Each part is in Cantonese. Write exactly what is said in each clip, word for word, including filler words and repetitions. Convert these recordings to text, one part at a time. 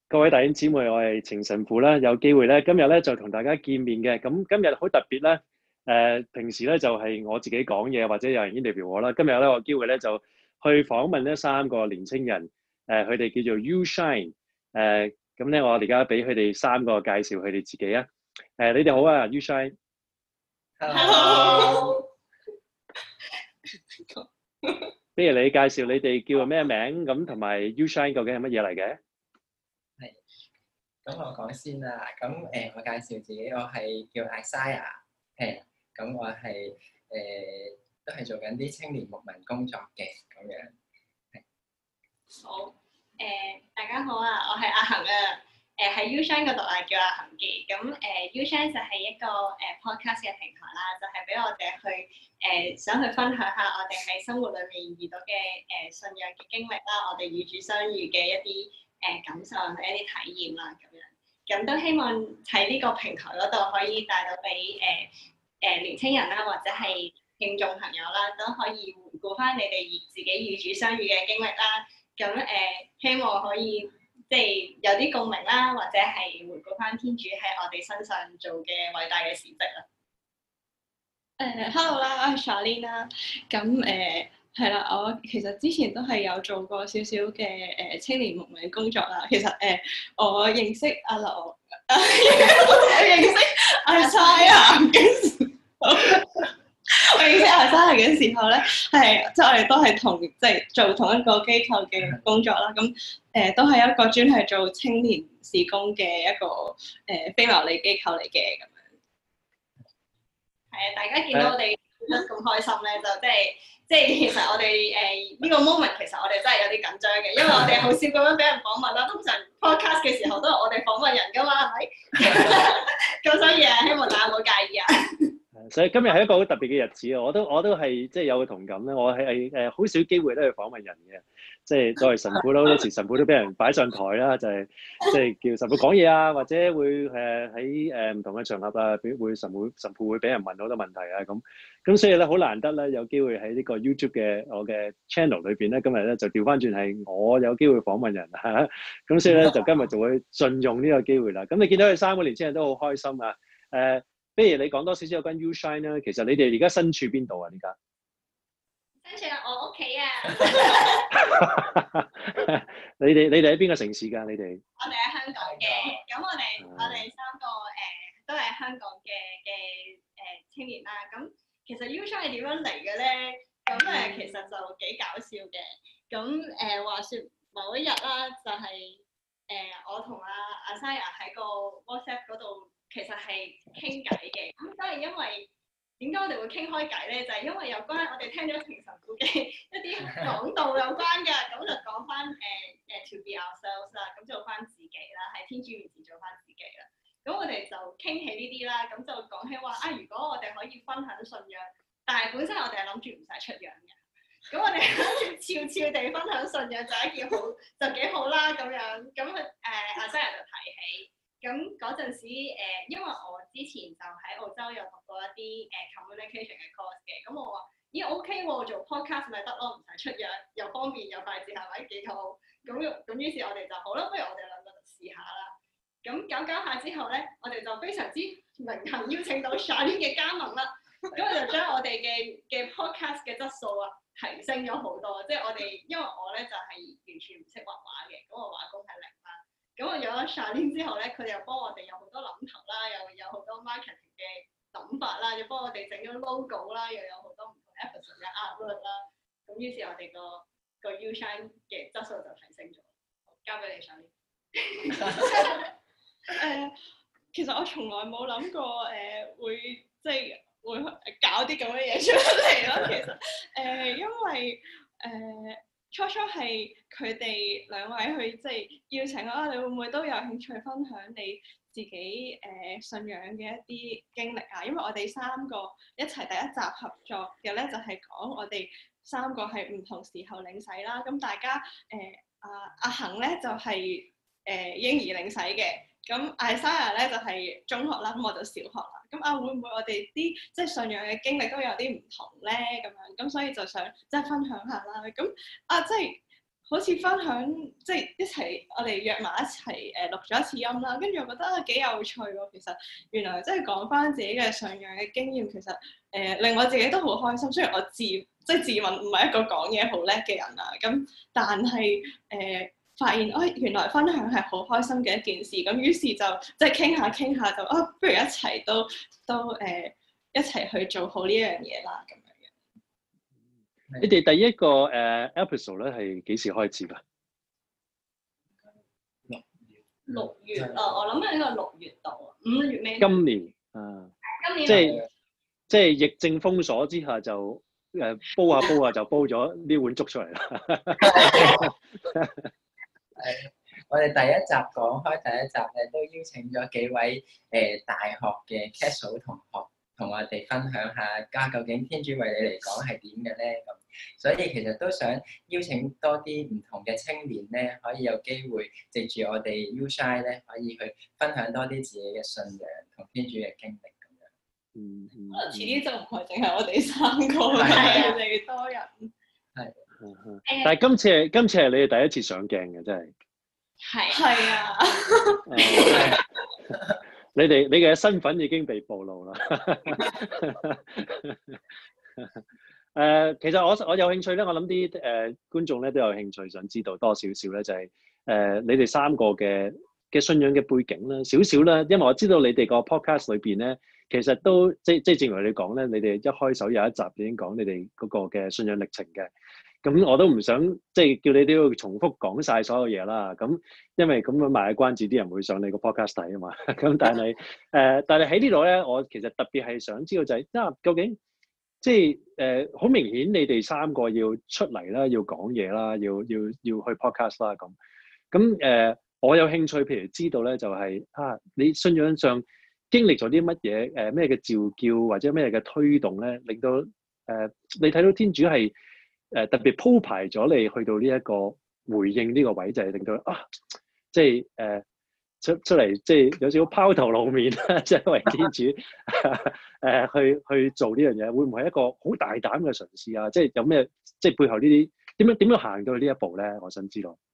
各位弟兄姊妹，我係程神父啦，有機會咧，今日咧就同大家見面嘅。咁今日好特別咧，誒、呃，平時咧就係、是、我自己講嘢，或者有人 interview 我啦。今日咧，我有機會咧就去訪問呢三個年青人，誒、呃，佢哋叫做 U Shine，誒、呃，咁咧我而家俾佢哋三個介紹佢哋自己啊。誒、呃，你哋好啊 ，U Shine。 Hello。 不如你介紹你哋叫咩名，咁同埋 U Shine 究竟係乜嘢嚟嘅？ 係，咁我講先啦。咁誒、呃，我介紹自己，我係叫 Isaiah，係，咁我係誒、呃、都係做緊啲青年牧民工作嘅咁樣。 好，誒、呃、大家好啊，我係阿恒啊，誒喺 U Shine 嗰度啊，叫阿恒記。咁誒、呃、U Shine 就係一個誒、呃、podcast 嘅平台啦，就係、是、俾我哋去誒、呃、想去分享下我哋喺生活裏面遇到嘅誒、呃、信仰嘅經歷啦，我哋與主相遇嘅一啲誒、呃、感受同一啲體驗啦，咁樣。咁都希望喺呢個平台嗰度可以帶到俾誒誒年青人啦，或者係聽眾朋友啦，都可以回顧翻你哋自己與主相遇嘅經歷啦。咁誒、呃，希望可以即係有啲共鳴啦，或者係回顧翻天主喺我哋身上做嘅偉大嘅事蹟啦。 誒、uh,，hello 啦，我係 Charlene 啦。咁誒係啦，我其實之前都係有做過少少嘅誒青年牧民工作啦。其實誒、呃，我認識阿劉，我認識阿 Isaiah 嘅時候，我認識阿 Isaiah 嘅時候咧，係即係我哋都係同即係做同一個機構嘅工作啦。咁誒、呃、都係一個專係做青年事工嘅一個誒、呃、非牟利機構嚟嘅咁。 係啊，大家見到我哋得咁開心咧，就即係即係其實我哋誒呢個 moment 其實我哋真係有啲緊張嘅，因為我哋好少咁樣俾人訪問啦。通常 podcast 嘅時候都係我哋訪問人噶嘛，係咪？咁所以啊，希望大家唔好介意啊。 所以今日係一個好特別嘅日子啊！我都我都係即係有個同感咧，我係誒好少機會都去訪問人嘅，即係作為神父啦，好多時神父都俾人擺上台啦，就係即係叫神父講嘢啊，或者會誒喺誒唔同嘅場合啊，俾會神父神父會俾人問好多問題啊咁，咁所以咧好難得咧有機會喺呢個 YouTube 嘅我嘅 channel 裏邊咧，今日咧就調翻轉係我有機會訪問人嚇，咁所以咧就今日就會盡用呢個機會啦。咁你見到佢三個年青人都好開心啊！誒、呃。不如你講多少少有關 U Shine 啦。其實你哋而家身處邊度啊？而家身處我屋企啊！ 你哋你哋喺邊個城市㗎？你哋我哋喺香港嘅，咁我哋我哋三個誒、呃、都係香港嘅嘅誒青年啦。咁其實 U Shine 係點樣嚟嘅咧？咁誒、呃、其實就幾搞笑嘅。咁誒、呃、話説某一日啦，就係、是、誒、呃、我同阿阿 Isaiah 喺個 WhatsApp 嗰度。其實係傾偈嘅，咁都係因為點解我哋會傾開偈咧？就係、是、因為有關我哋聽咗程神父嘅一啲講道有關嘅，咁就講翻誒誒 to be ourselves 啦，咁做翻自己啦，喺天主面前做翻自己啦。咁我哋就傾起呢啲啦，咁就講起話啊，如果我哋可以分享信仰，但係本身我哋係諗住唔使出樣嘅，咁我哋諗住悄悄地分享信仰就一件好就幾好啦咁樣。咁誒阿 Isaiah 就提起。咁嗰陣時，誒、呃，因為我之前就喺澳洲有讀過一啲誒、呃、communication 嘅 course 嘅，咁我話咦 OK 喎，做 podcast 咪得咯，唔使出樣，又方便又快捷，係咪幾好？咁咁於是我哋就好啦，不如我哋兩個就試下啦。咁搞搞下之後咧，我哋就非常之榮幸邀請到 Charlene 嘅加盟啦，咁我就將我哋嘅嘅 podcast 嘅質素啊提升咗好多，即係我哋因為我咧就係、是、完全唔識畫畫嘅，咁我畫工係零啦。咁我有咗 Charlene 之後咧，佢哋又幫我哋有好多諗頭啦，又有好多 marketing 嘅諗法啦，又幫我哋整咗 logo 啦，又有好多唔同 episode 嘅 artwork 啦。咁於是我哋個個 U Shine 嘅質素就提升咗。交俾你 Charlene。 誒，其實我從來冇諗過誒、呃、會即係會搞啲咁嘅嘢出嚟咯。其實誒、呃，因為誒。呃初初係佢哋兩位去即係邀請啊，你會唔會都有興趣分享你自己誒、呃、信仰嘅一啲經歷啊？因為我哋三個一齊第一集合作嘅咧，就係、是、講我哋三個係唔同時候領洗啦。咁大家誒阿阿恒咧就係、是、誒、呃、嬰兒領洗嘅。咁 Isaiah 咧就係、是、中學啦，咁我就小學啦。咁啊，會唔會我哋啲即係信仰嘅經歷都有啲唔同咧？咁樣咁，所以就想即係分享下啦。咁啊，即係好似分享即係一齊，我哋約埋一齊誒、呃、錄咗一次音啦，跟住我覺得啊幾有趣喎。其實原來即係講翻自己嘅信仰嘅經驗，其實誒、呃、令我自己都好開心。雖然我自即係自問唔係一個講嘢好叻嘅人啦，咁但係誒、呃、發現哦、哎、原來分享係好開心嘅一件事。咁於是就即係傾下傾下就啊，不如一齊都都誒、呃、一齊去做好呢樣嘢啦咁。 你哋第一個誒、uh, episode 咧係幾時開始㗎？ 六月啊，我諗係呢個六月度啊，五月尾。 今年啊， 今年即係即係疫症封鎖之下就誒、uh, 煲下煲下就煲咗呢碗粥出嚟啦。 係我哋第一集講開第一集咧，都邀請咗幾位誒、呃、大學嘅 casual 同學。同我哋分享下，家究竟天主為你嚟講係點嘅咧？咁，所以其實都想邀請多啲唔同嘅青年咧，可以有機會藉住我哋 U-Shine 咧，可以去分享多啲自己嘅信仰同天主嘅經歷咁樣。 嗯嗯。 可能遲啲就唔係淨係我哋三個，係越嚟越多人。 係。 但係今次係今次係你哋第一次上鏡嘅，真係。 係。 係啊。 你哋你嘅身份已經被暴露啦。誒、呃，其實我我有興趣咧，我諗啲誒觀眾咧都有興趣想知道多少少咧，就係、是、誒、呃、你哋三個嘅嘅信仰嘅背景啦，少少啦，因為我知道你哋個 podcast 裏邊咧，其實都即即正如你講咧，你哋一開手有一集已經講你哋嗰個嘅信仰歷程嘅。咁我都唔想即係叫你都要重複講晒所有嘢啦。咁因為咁樣賣關子，啲人會上你個 podcast 睇啊嘛。咁但係誒、呃，但係喺呢度咧，我其實特別係想知道就係、是，啊究竟即係誒好明顯，你哋三個要出嚟啦，要講嘢啦，要要要去 podcast 啦咁。咁誒、呃，我有興趣，譬如知道咧，就係、是、啊，你信仰上經歷咗啲乜嘢？誒咩嘅召叫或者咩嘅推動咧，令到誒、呃、你睇到天主係。誒、呃、特別鋪排咗你去到呢一個回應呢個位，就係、是、令到啊，即係誒、呃、出出嚟，即係有少少拋頭露面啦，即係為天主誒、呃、去去做呢樣嘢，會唔會係一個好大膽嘅嘗試啊？即係有咩即係背後呢啲點樣點樣行到去呢一步咧？我想知道。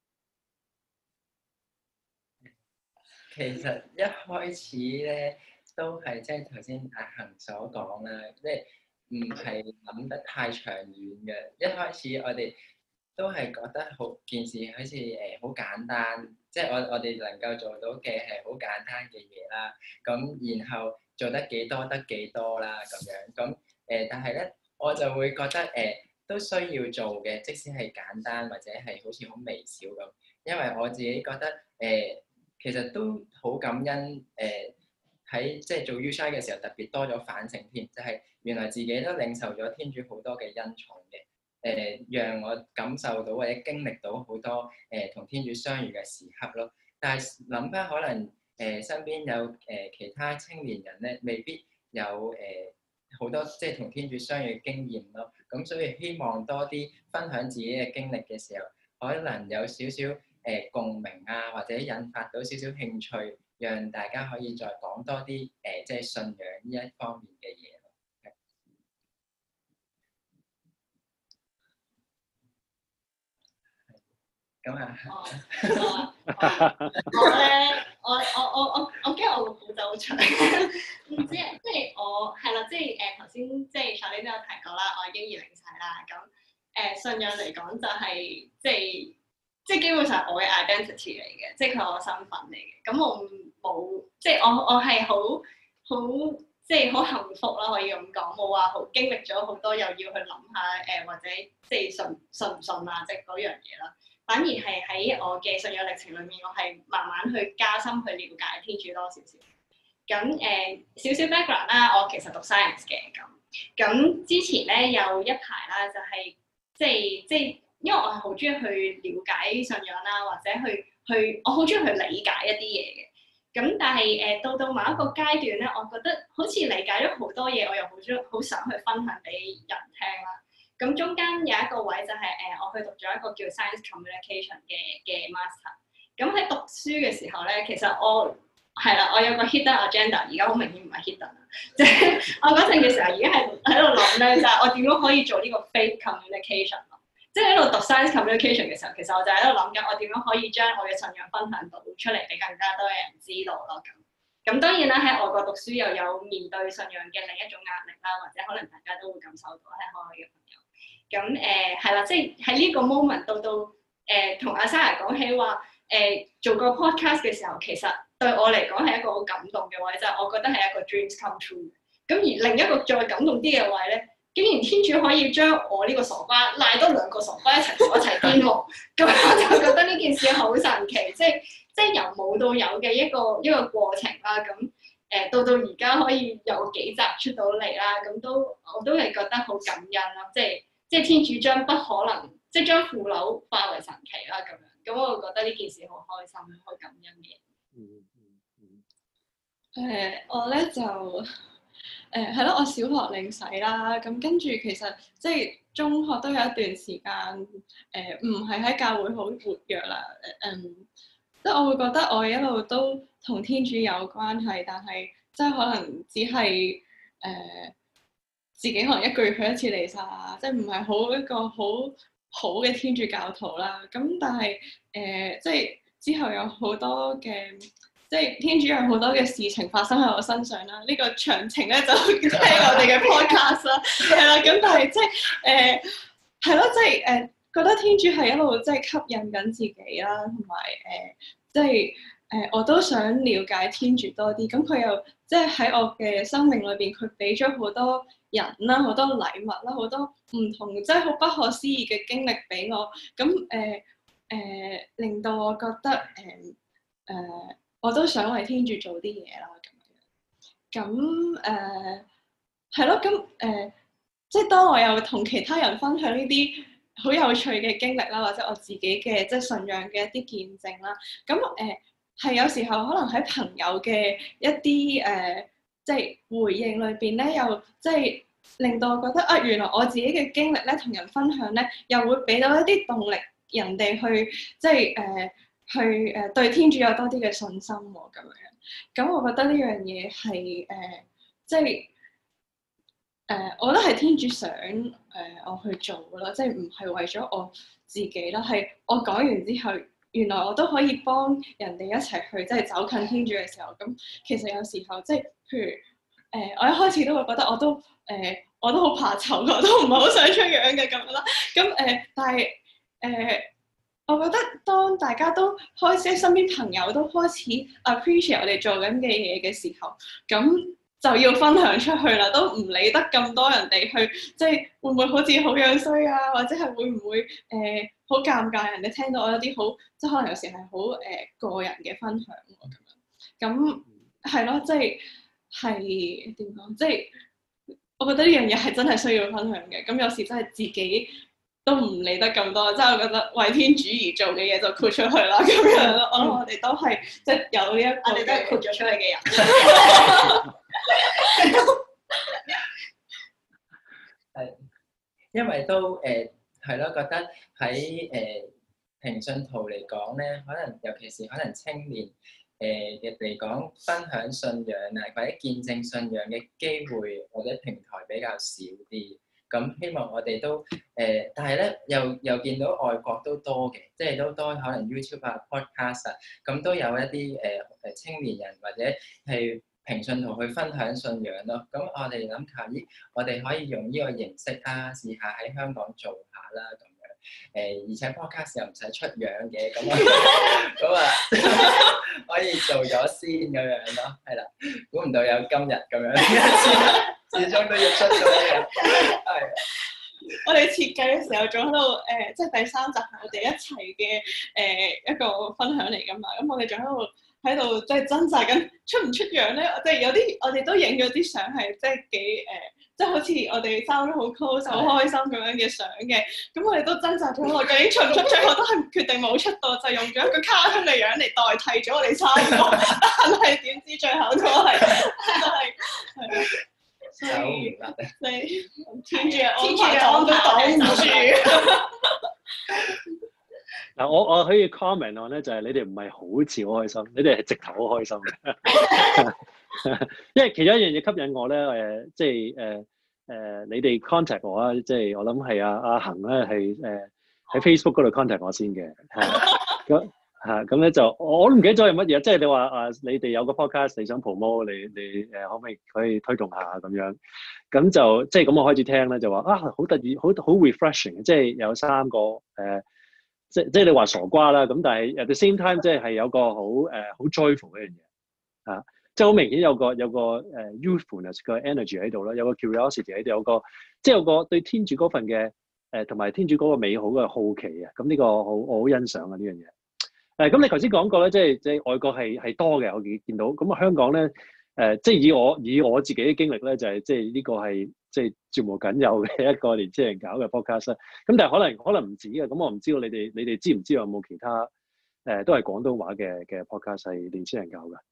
其實一開始咧都係即係頭先阿恒所講啦，即係。唔係諗得太長遠嘅，一開始我哋都係覺得好件事好似誒好簡單，即係我我哋能夠做到嘅係好簡單嘅嘢啦。咁然後做得幾多得幾多啦咁樣。咁誒、呃，但係咧我就會覺得誒、呃、都需要做嘅，即使係簡單或者係好似好微小咁。因為我自己覺得誒、呃、其實都好感恩誒。呃喺即係做 U-Shine 嘅時候，特別多咗反省添，就係、是、原來自己都領受咗天主好多嘅恩寵嘅，誒、呃、讓我感受到或者經歷到好多誒同、呃、天主相遇嘅時刻咯。但係諗翻可能誒、呃、身邊有誒、呃、其他青年人咧，未必有誒好、呃、多即係同天主相遇嘅經驗咯。咁所以希望多啲分享自己嘅經歷嘅時候，可能有少少誒、呃、共鳴啊，或者引發到少少興趣。讓大家可以再講多啲誒、呃，即係信仰呢一方面嘅嘢咯。咁啊， 我咧，我我我我我驚我個故仔好長，唔知啊，即係我係啦，即係誒頭先即係上年都有提過啦，我已經二零晒啦。咁誒、呃、信仰嚟講就係、是、即係即係基本上我嘅 identity 嚟嘅，即係佢係我身份嚟嘅。咁我冇即係我我係好好即係好幸福啦，可以咁講，冇話好經歷咗好多，又要去諗下誒、呃、或者即係信信唔信啊，即係嗰樣嘢啦。反而係喺我嘅信仰歷程裏面，我係慢慢去加深去了解天主多少少。咁誒、呃、少少 background 啦，我其實讀 science 嘅咁。咁之前咧有一排啦，就係、是、即係即係，因為我係好中意去了解信仰啦，或者去去我好中意去理解一啲嘢嘅。咁但係誒、呃、到到某一個階段咧，我覺得好似理解咗好多嘢，我又好中好想去分享俾人聽啦。咁中間有一個位就係、是、誒、呃，我去讀咗一個叫 Science Communication 嘅嘅 master。咁喺讀書嘅時候咧，其實我係啦，我有個 hidden agenda，而家好明顯唔係 hidden 啊，即係我嗰陣嘅時候已經係喺度諗咧，就係、是、我點樣可以做呢個 faith communication 咯。 即係喺度讀 science communication 嘅時候，其實我就喺度諗緊我點樣可以將我嘅信仰分享到出嚟俾更加多嘅人知道咯。咁咁當然啦，喺外國讀書又有面對信仰嘅另一種壓力啦，或者可能大家都會感受到喺海外嘅朋友。咁誒係啦，即係喺呢個 moment 到到誒同阿 Sarah 講起話誒、呃、做個 podcast 嘅時候，其實對我嚟講係一個好感動嘅位，就係、是、我覺得係一個 dreams come true。咁而另一個再感動啲嘅位咧，竟然天主可以將我呢個傻瓜賴多兩個傻瓜一齊同我一齊癲喎，咁我就覺得呢件事好神奇，即係即係由冇到有嘅一個一個過程啦。咁誒、呃、到到而家可以有幾集出到嚟啦，咁都我都係覺得好感恩啦。即係即係天主將不可能，即係將腐朽化為神奇啦咁樣。咁我覺得呢件事好開心，好感恩嘅。 嗯嗯誒、呃，我咧就誒係咯，我小學領洗啦，咁跟住其實即係中學都有一段時間誒，唔係喺教會好活躍啦。誒、嗯，即係我會覺得我一路都同天主有關係，但係即係可能只係誒、呃、自己可能一個月去一次彌撒啊，即係唔係好一個好好嘅天主教徒啦。咁但係誒、呃，即係之後有好多嘅。即係天主有好多嘅事情發生喺我身上啦，呢、這個詳情咧就聽我哋嘅 podcast 啦，係啦，咁但係即係誒係咯，即係誒、呃、覺得天主係一路即係吸引緊自己啦，同埋誒即係誒、呃、我都想了解天主多啲，咁佢又即係喺我嘅生命裏邊，佢俾咗好多人啦，好多禮物啦，好多唔同即係好不可思議嘅經歷俾我，咁誒誒令到我覺得誒誒。呃呃我都想為天主做啲嘢啦，咁樣，咁誒係咯，咁誒、呃、即係當我有同其他人分享呢啲好有趣嘅經歷啦，或者我自己嘅即係信仰嘅一啲見證啦，咁誒係有時候可能喺朋友嘅一啲誒、呃、即係回應裏邊咧，又即係令到我覺得啊，原來我自己嘅經歷咧，同人分享咧，又會俾到一啲動力人哋去即係誒。呃去誒、呃、對天主有多啲嘅信心喎、哦，咁樣，咁我覺得呢樣嘢係誒，即係誒、呃，我覺得係天主想誒、呃、我去做嘅咯，即係唔係為咗我自己啦，係我講完之後，原來我都可以幫人哋一齊去即係走近天主嘅時候，咁其實有時候即係譬如誒、呃，我一開始都會覺得我都誒、呃，我都好怕醜，我都唔係好想出樣嘅咁樣啦，咁誒、呃，但係誒。呃我覺得當大家都開始，身邊朋友都開始 appreciate 我哋做緊嘅嘢嘅時候，咁就要分享出去啦，都唔理得咁多人哋去，即係會唔會好似好樣衰啊，或者係會唔會誒好尷尬，人哋聽到我有啲好，即係可能有時係好誒個人嘅分享喎咁樣，咁係咯，即係係點講？即係我覺得呢樣嘢係真係需要分享嘅，咁有時真係自己。都唔理得咁多，即係我覺得為天主而做嘅嘢就豁出去啦，咁樣咯。我諗我哋都係即係有呢一個，我哋都係豁咗出去嘅人。 係，因為都誒係咯，覺得喺誒平信徒嚟講咧，可能尤其是可能青年誒嘅嚟講，分享信仰啊或者見證信仰嘅機會或者平台比較少啲。咁希望我哋都誒、呃，但係咧又又見到外國都多嘅，即係都多可能 YouTube 啊、Podcast 啊，咁都有一啲誒誒青年人或者係平信徒去分享信仰咯。咁我哋諗下，咦，我哋可以用呢個形式啊，試下喺香港做下啦咁樣。誒、呃，而且 Podcast 又唔使出樣嘅，咁咁啊可以做咗先咁樣咯，係啦。估唔到有今日咁樣。始終都要出咗嘅，係。 我哋設計嘅時候仲喺度誒，即係第三集係我哋一齊嘅誒一個分享嚟㗎嘛。咁我哋仲喺度喺度即係掙扎緊出唔出樣咧？即係有啲我哋都影咗啲相係即係幾誒，即係好似我哋三個好 close 好開心咁樣嘅相嘅。咁我哋都掙扎咗好耐，究竟出唔出？最後都係決定冇出到，就用咗一個卡通嘅樣嚟代替咗我哋三個。但係點知最後都係都係係。所以，你天主嘅安排擋都擋唔住。 嗱，我我可以 comment on 咧，就係你哋唔係好似好開心，你哋係直頭好開心嘅。因為其中一樣嘢吸引我咧，誒，即係誒誒，你哋 contact 我啊，即係我諗係阿阿恒咧係誒喺 Facebook 嗰度 contact 我先嘅，係咁嚇咁咧就我都唔記得咗係乜嘢，即係你話啊，你哋有個 podcast 你想 promote，你你誒可唔可以可以推動下咁樣？咁就即係咁我開始聽咧，就話啊好得意，好好 refreshing，即係有三個誒、呃，即即係你話傻瓜啦，咁但係 at the same time 即係係有個好誒好 joyful 嘅一樣嘢啊，即係好明顯有個有個誒 youthfulness 嘅 energy 喺度啦，有個 curiosity 喺度，有個即係有個對天主嗰份嘅誒同埋天主嗰個美好嘅好奇啊，咁呢個好我好欣賞啊呢樣嘢。誒咁你頭先講過咧，即係即係外國係係多嘅，我見見到咁啊香港咧。誒、呃，即係以我以我自己嘅經歷咧，就係、是、即係呢個係即係絕無僅有嘅一個年青人搞嘅 podcast。咁但係可能可能唔止嘅，咁我唔知道你哋你哋知唔知道有冇其他誒、呃、都係廣東話嘅嘅 podcast 係年青人搞嘅？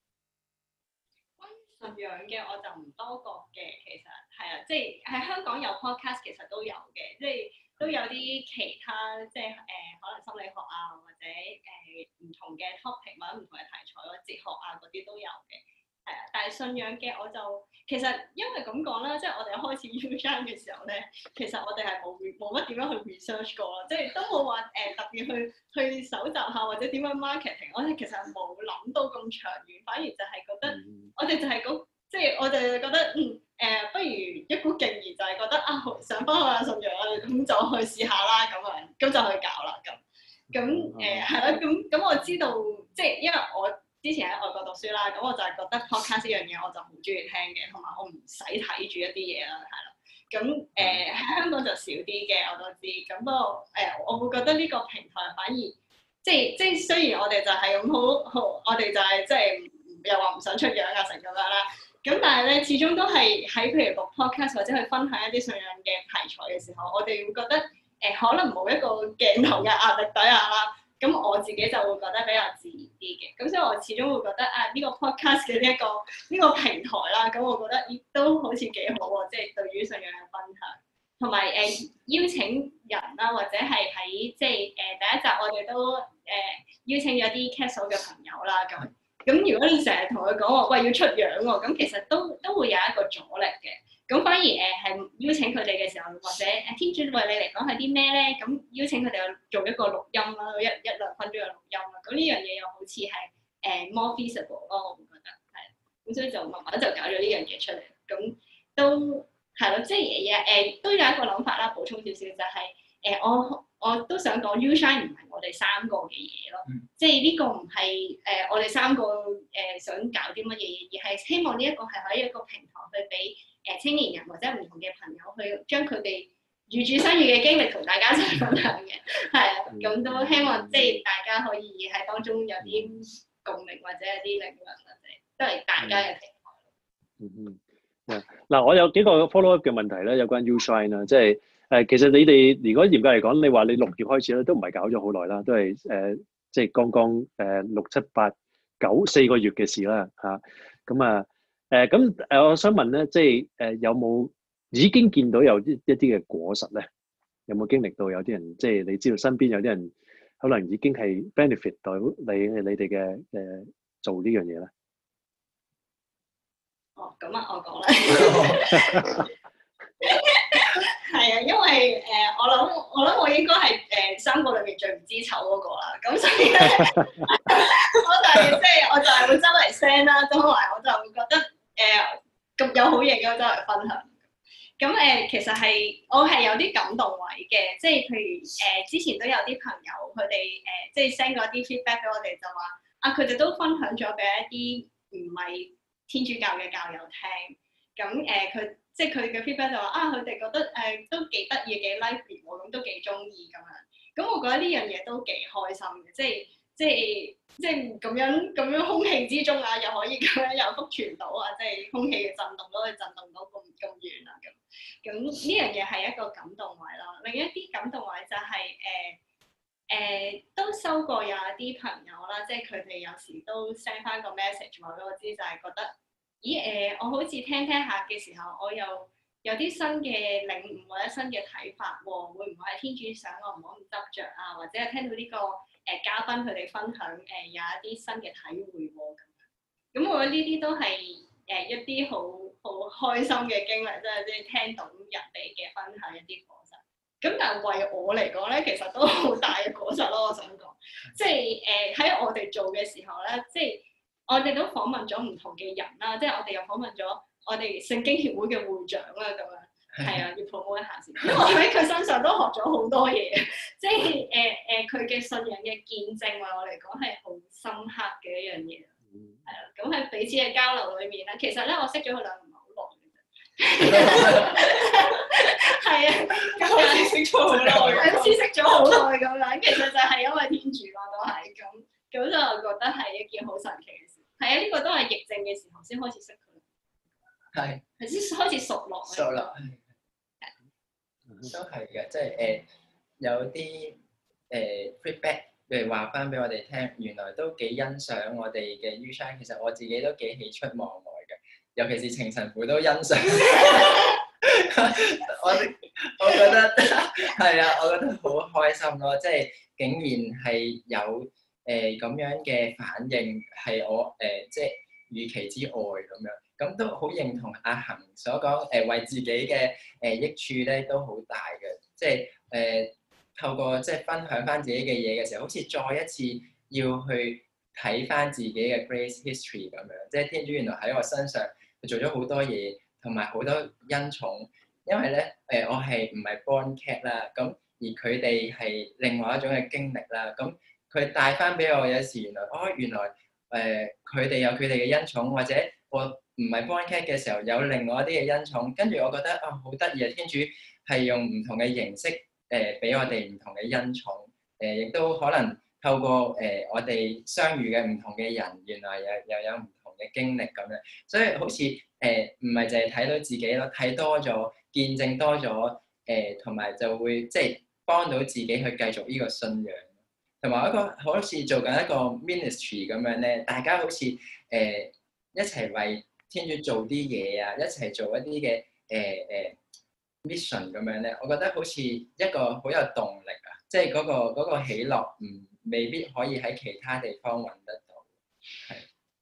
關於信仰嘅我就唔多覺嘅，其實係啊，即係喺香港有 podcast 其實都有嘅，即係都有啲其他即係誒、呃、可能心理學啊，或者誒唔、呃、同嘅 topic 或者唔同嘅題材或者哲學啊嗰啲都有嘅。係啊，但係信仰嘅我就其實因為咁講啦，即係我哋一開始 U-Shine 嘅時候咧，其實我哋係冇冇乜點樣去 research 過咯，即係都冇話誒特別去去搜集下或者點樣 marketing，我哋其實冇諗到咁長遠，反而就係覺得、嗯、我哋就係嗰即係我哋覺得嗯誒、呃，不如一股勁兒就係覺得啊想翻下信仰啊，咁就去試下啦咁樣，咁就去搞啦咁，咁誒係咯，咁咁我知道即係因為我。之前喺外國讀書啦，咁我就係覺得 podcast 呢樣嘢我就好中意聽嘅，同埋我唔使睇住一啲嘢啦，係啦。咁誒喺香港就少啲嘅，我都知。咁不過誒，我會覺得呢個平台反而即係即係雖然我哋就係咁好好，我哋就係即係又話唔想出樣啊成咁樣啦。咁但係咧，始終都係喺譬如錄 podcast 或者去分享一啲信仰嘅題材嘅時候，我哋會覺得誒、呃、可能冇一個鏡頭嘅壓力底下啦。咁我自己就會覺得比較自然啲嘅，咁所以我始終會覺得啊呢、這個 podcast 嘅呢一個呢、這個平台啦，咁我覺得亦都好似幾好喎，即、就、係、是、對於信仰嘅分享，同埋誒邀請人啦，或者係喺即係誒第一集我哋都誒、呃、邀請咗啲 Castle 嘅朋友啦，咁咁如果你成日同佢講話喂要出樣喎，咁其實都都會有一個阻力嘅。咁反而誒係、呃、邀請佢哋嘅時候，或者誒天主為你嚟講係啲咩咧？咁邀請佢哋去做一個錄音啦，一一兩分鐘嘅錄音啦。咁呢樣嘢又好似係誒 more feasible 咯，我會覺得係。咁所以就慢慢就搞咗呢樣嘢出嚟。咁都係咯，即係誒誒都有一個諗法啦。補充少少就係、是、誒、呃、我我都想講 U-Shine 唔係我哋三個嘅嘢咯，嗯、即係呢個唔係誒我哋三個誒、呃、想搞啲乜嘢嘢，而係希望呢一個係喺一個平台去俾。誒青年人或者唔同嘅朋友去將佢哋預主生育嘅經歷同大家一齊分享嘅，係啊，咁都希望即係大家可以喺當中有啲共鳴或者有啲靈魂或者都係大家嘅平台。 嗯嗯，嗱，我有幾個 follow up 嘅問題咧，有關 U-Shine 啦，即係誒，其實你哋如果嚴格嚟講，你話你六月開始咧，都唔係搞咗好耐啦，都係誒、呃，即係剛剛誒、呃、六七八九四個月嘅事啦，嚇，咁啊。誒咁誒，我想問咧，即係誒、呃、有冇已經見到有啲一啲嘅果實咧？有冇經歷到有啲人，即係你知道身邊有啲人可能已經係 benefit 到你你哋嘅誒做呢樣嘢咧？ 哦，咁啊，我講啦。係啊，因為誒、呃，我諗我諗我應該係誒、呃、三個裏面最唔知醜嗰個啦，咁所以咧，我就係即係我就係會周圍 send 啦，同埋我就會覺得誒咁、呃、有好嘢嘅周圍分享。咁誒、呃，其實係我係有啲感動位嘅，即係譬如誒、呃、之前都有啲朋友佢哋誒即係 send 咗啲 feedback 俾我哋，就話啊佢哋都分享咗俾一啲唔係天主教嘅教友聽，咁誒佢。呃即係佢嘅 feedback 就話啊，佢哋覺得誒、呃、都幾得意、幾 lively 喎，咁都幾中意咁樣。咁我覺得呢樣嘢都幾開心嘅，即係即係即係咁樣咁樣空氣之中啊，又可以咁樣有福傳到啊，即係空氣嘅震動都可以震動到咁咁遠啊咁。咁呢樣嘢係一個感動位咯。另一啲感動位就係誒誒都收過有一啲朋友啦，即係佢哋有時都 send 翻個 message 話俾我知，就係、是、覺得。咦誒、呃，我好似聽聽下嘅時候，我又有啲新嘅領悟或者新嘅睇法喎、哦，會唔會係天主想我唔好咁執着啊？或者係聽到呢、這個誒、呃、嘉賓佢哋分享誒、呃、有一啲新嘅體會喎咁樣。咁我覺得呢啲都係誒、呃、一啲好好開心嘅經歷，即係即係聽到人哋嘅分享一啲過程。 咁但係為我嚟講咧，其實都好大嘅果實咯。我想講，即係誒喺我哋做嘅時候咧，即係我哋都訪問咗唔同嘅人啦，即係我哋又訪問咗我哋聖經協會嘅會長啦，咁樣。係啊，要 promote 一下先，因為我喺佢身上都學咗好多嘢，即係誒誒佢嘅信仰嘅見證，為我嚟講係好深刻嘅一樣嘢。係啦，咁喺彼此嘅交流裏面咧，其實咧我識咗佢兩唔係好耐嘅啫。係啊，咁好似識咗好耐，好似識咗好耐咁樣。其實就係因為天主咯，都係咁，咁就覺得係一件好神奇嘅事。係啊，呢個都係疫症嘅時候先開始識佢。 係。 係先開始熟落。 熟落。都係嘅，即係誒、呃、有啲誒 feedback，譬如話翻俾我哋聽，原來都幾欣賞我哋嘅 U-Shine。其實我自己都幾喜出望外嘅，尤其是程神父都欣賞。我我覺得係啊，我覺得好開心咯，即係竟然係有誒咁、呃、樣嘅反應，係我誒、呃、即係預期之外咁樣。咁都好認同阿恒所講，誒、呃、為自己嘅誒、呃、益處咧都好大嘅，即係誒、呃、透過即係分享翻自己嘅嘢嘅時候，好似再一次要去睇翻自己嘅 Grace History 咁樣，即係天主原來喺我身上佢做咗好多嘢，同埋好多恩寵。因為咧誒、呃、我係唔係 born cat 啦，咁而佢哋係另外一種嘅經歷啦，咁佢帶翻俾我有時原來哦原來誒佢哋有佢哋嘅恩寵，或者我唔係 born cat 嘅時候，有另外一啲嘅恩寵，跟住我覺得啊好得意啊！天主係用唔同嘅形式誒俾、呃、我哋唔同嘅恩寵，誒、呃、亦都可能透過誒、呃、我哋相遇嘅唔同嘅人，原來又又有唔同嘅經歷咁樣，所以好似誒唔係淨係睇到自己咯，睇多咗，見證多咗，誒同埋就會即係幫到自己去繼續呢個信仰，同埋一個好似做緊一個 ministry 咁樣咧，大家好似誒、呃、一齊為天主做啲嘢啊，一齊做一啲嘅誒誒 mission 咁樣咧，我覺得好似一個好有動力啊！即係嗰個嗰個喜樂，唔未必可以喺其他地方揾得到。係，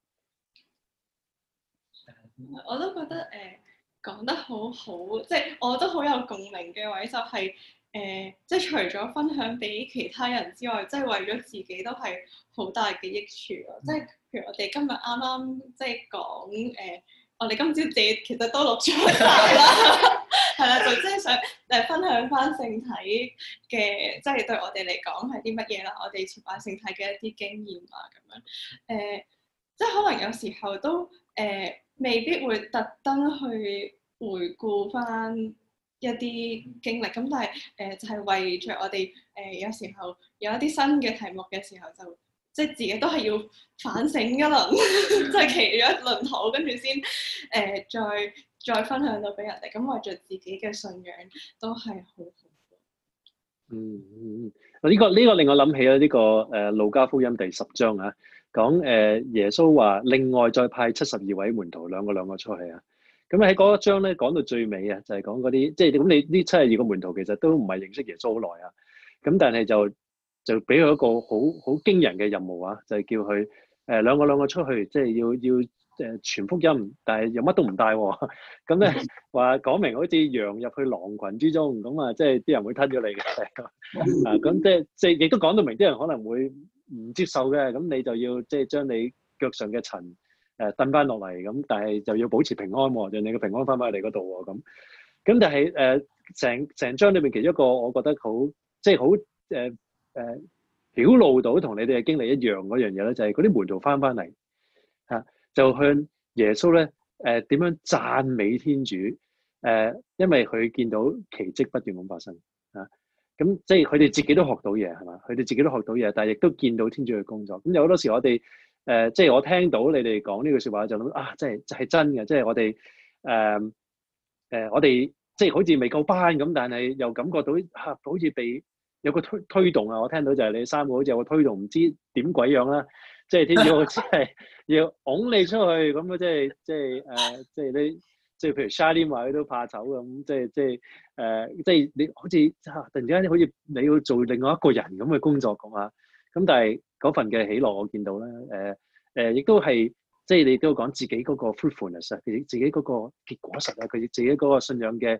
我都覺得誒、呃、講得好好，即係我都好有共鳴嘅位就係、是、誒、呃，即係除咗分享俾其他人之外，即係為咗自己都係好大嘅益處咯。即係譬如我哋今日啱啱即係講誒，我哋今朝自己其實都錄咗晒啦，係啦，就即係想誒分享翻聖體嘅，即係對我哋嚟講係啲乜嘢啦？我哋朝拜聖體嘅一啲經驗啊，咁樣誒、呃，即係可能有時候都誒、呃、未必會特登去回顧翻一啲經歷，咁但係誒、呃、就係、是、為着我哋誒、呃、有時候有一啲新嘅題目嘅時候就。即係自己都係要反省一輪，即係騎咗一輪土，跟住先誒再再分享到俾人哋。咁為著自己嘅信仰都係好好。 嗯嗯嗯，呢、這個呢、這個令我諗起啦，呢、這個誒路加福音第十章啊，講誒、呃、耶穌話另外再派七十二位門徒兩個兩個出去啊。咁喺嗰一章咧講到最尾啊，就係講嗰啲即係咁你呢七十二個門徒其實都唔係認識耶穌好耐啊。咁但係就就俾佢一個好好驚人嘅任務啊，就係、是、叫佢誒、呃、兩個兩個出去，即係要要誒傳福音，但係又乜都唔帶喎。咁咧話講明好似羊入去狼群之中，咁啊即係啲人會吞咗你嘅。啊咁即係即係亦都講到明，啲人可能會唔接受嘅。咁你就要即係將你腳上嘅塵誒蹬翻落嚟，咁但係就要保持平安喎，讓你嘅平安翻返嚟嗰度喎。咁咁但係誒成成章裏面其中一個我覺得好即係好誒。呃誒、呃、表露到同你哋嘅經歷一樣嗰樣嘢咧，就係嗰啲門徒翻翻嚟嚇，就向耶穌咧誒點樣讚美天主誒、呃，因為佢見到奇蹟不斷咁發生嚇，咁、啊、即係佢哋自己都學到嘢係嘛，佢哋自己都學到嘢，但係亦都見到天主嘅工作。咁有好多時我哋誒、呃，即係我聽到你哋講呢句説話就諗啊，即係就係真嘅，即係我哋誒誒，我哋即係好似未夠班咁，但係又感覺到嚇、啊，好似被有個推推動啊！我聽到就係你三個好似有個推動，唔知點鬼樣啦，即係天主好似係要拱你出去咁啊！即係即係誒，即係你即係譬如 Charlene 話佢都怕醜咁，即係即係誒，即係你好似啊突然之間好似你要做另外一個人咁嘅工作咁啊！咁但係嗰份嘅喜樂我見到咧，誒誒亦都係即係你都講自己嗰個 fruitfulness 啊，自己自己嗰個結果實啊，佢自己嗰個信仰嘅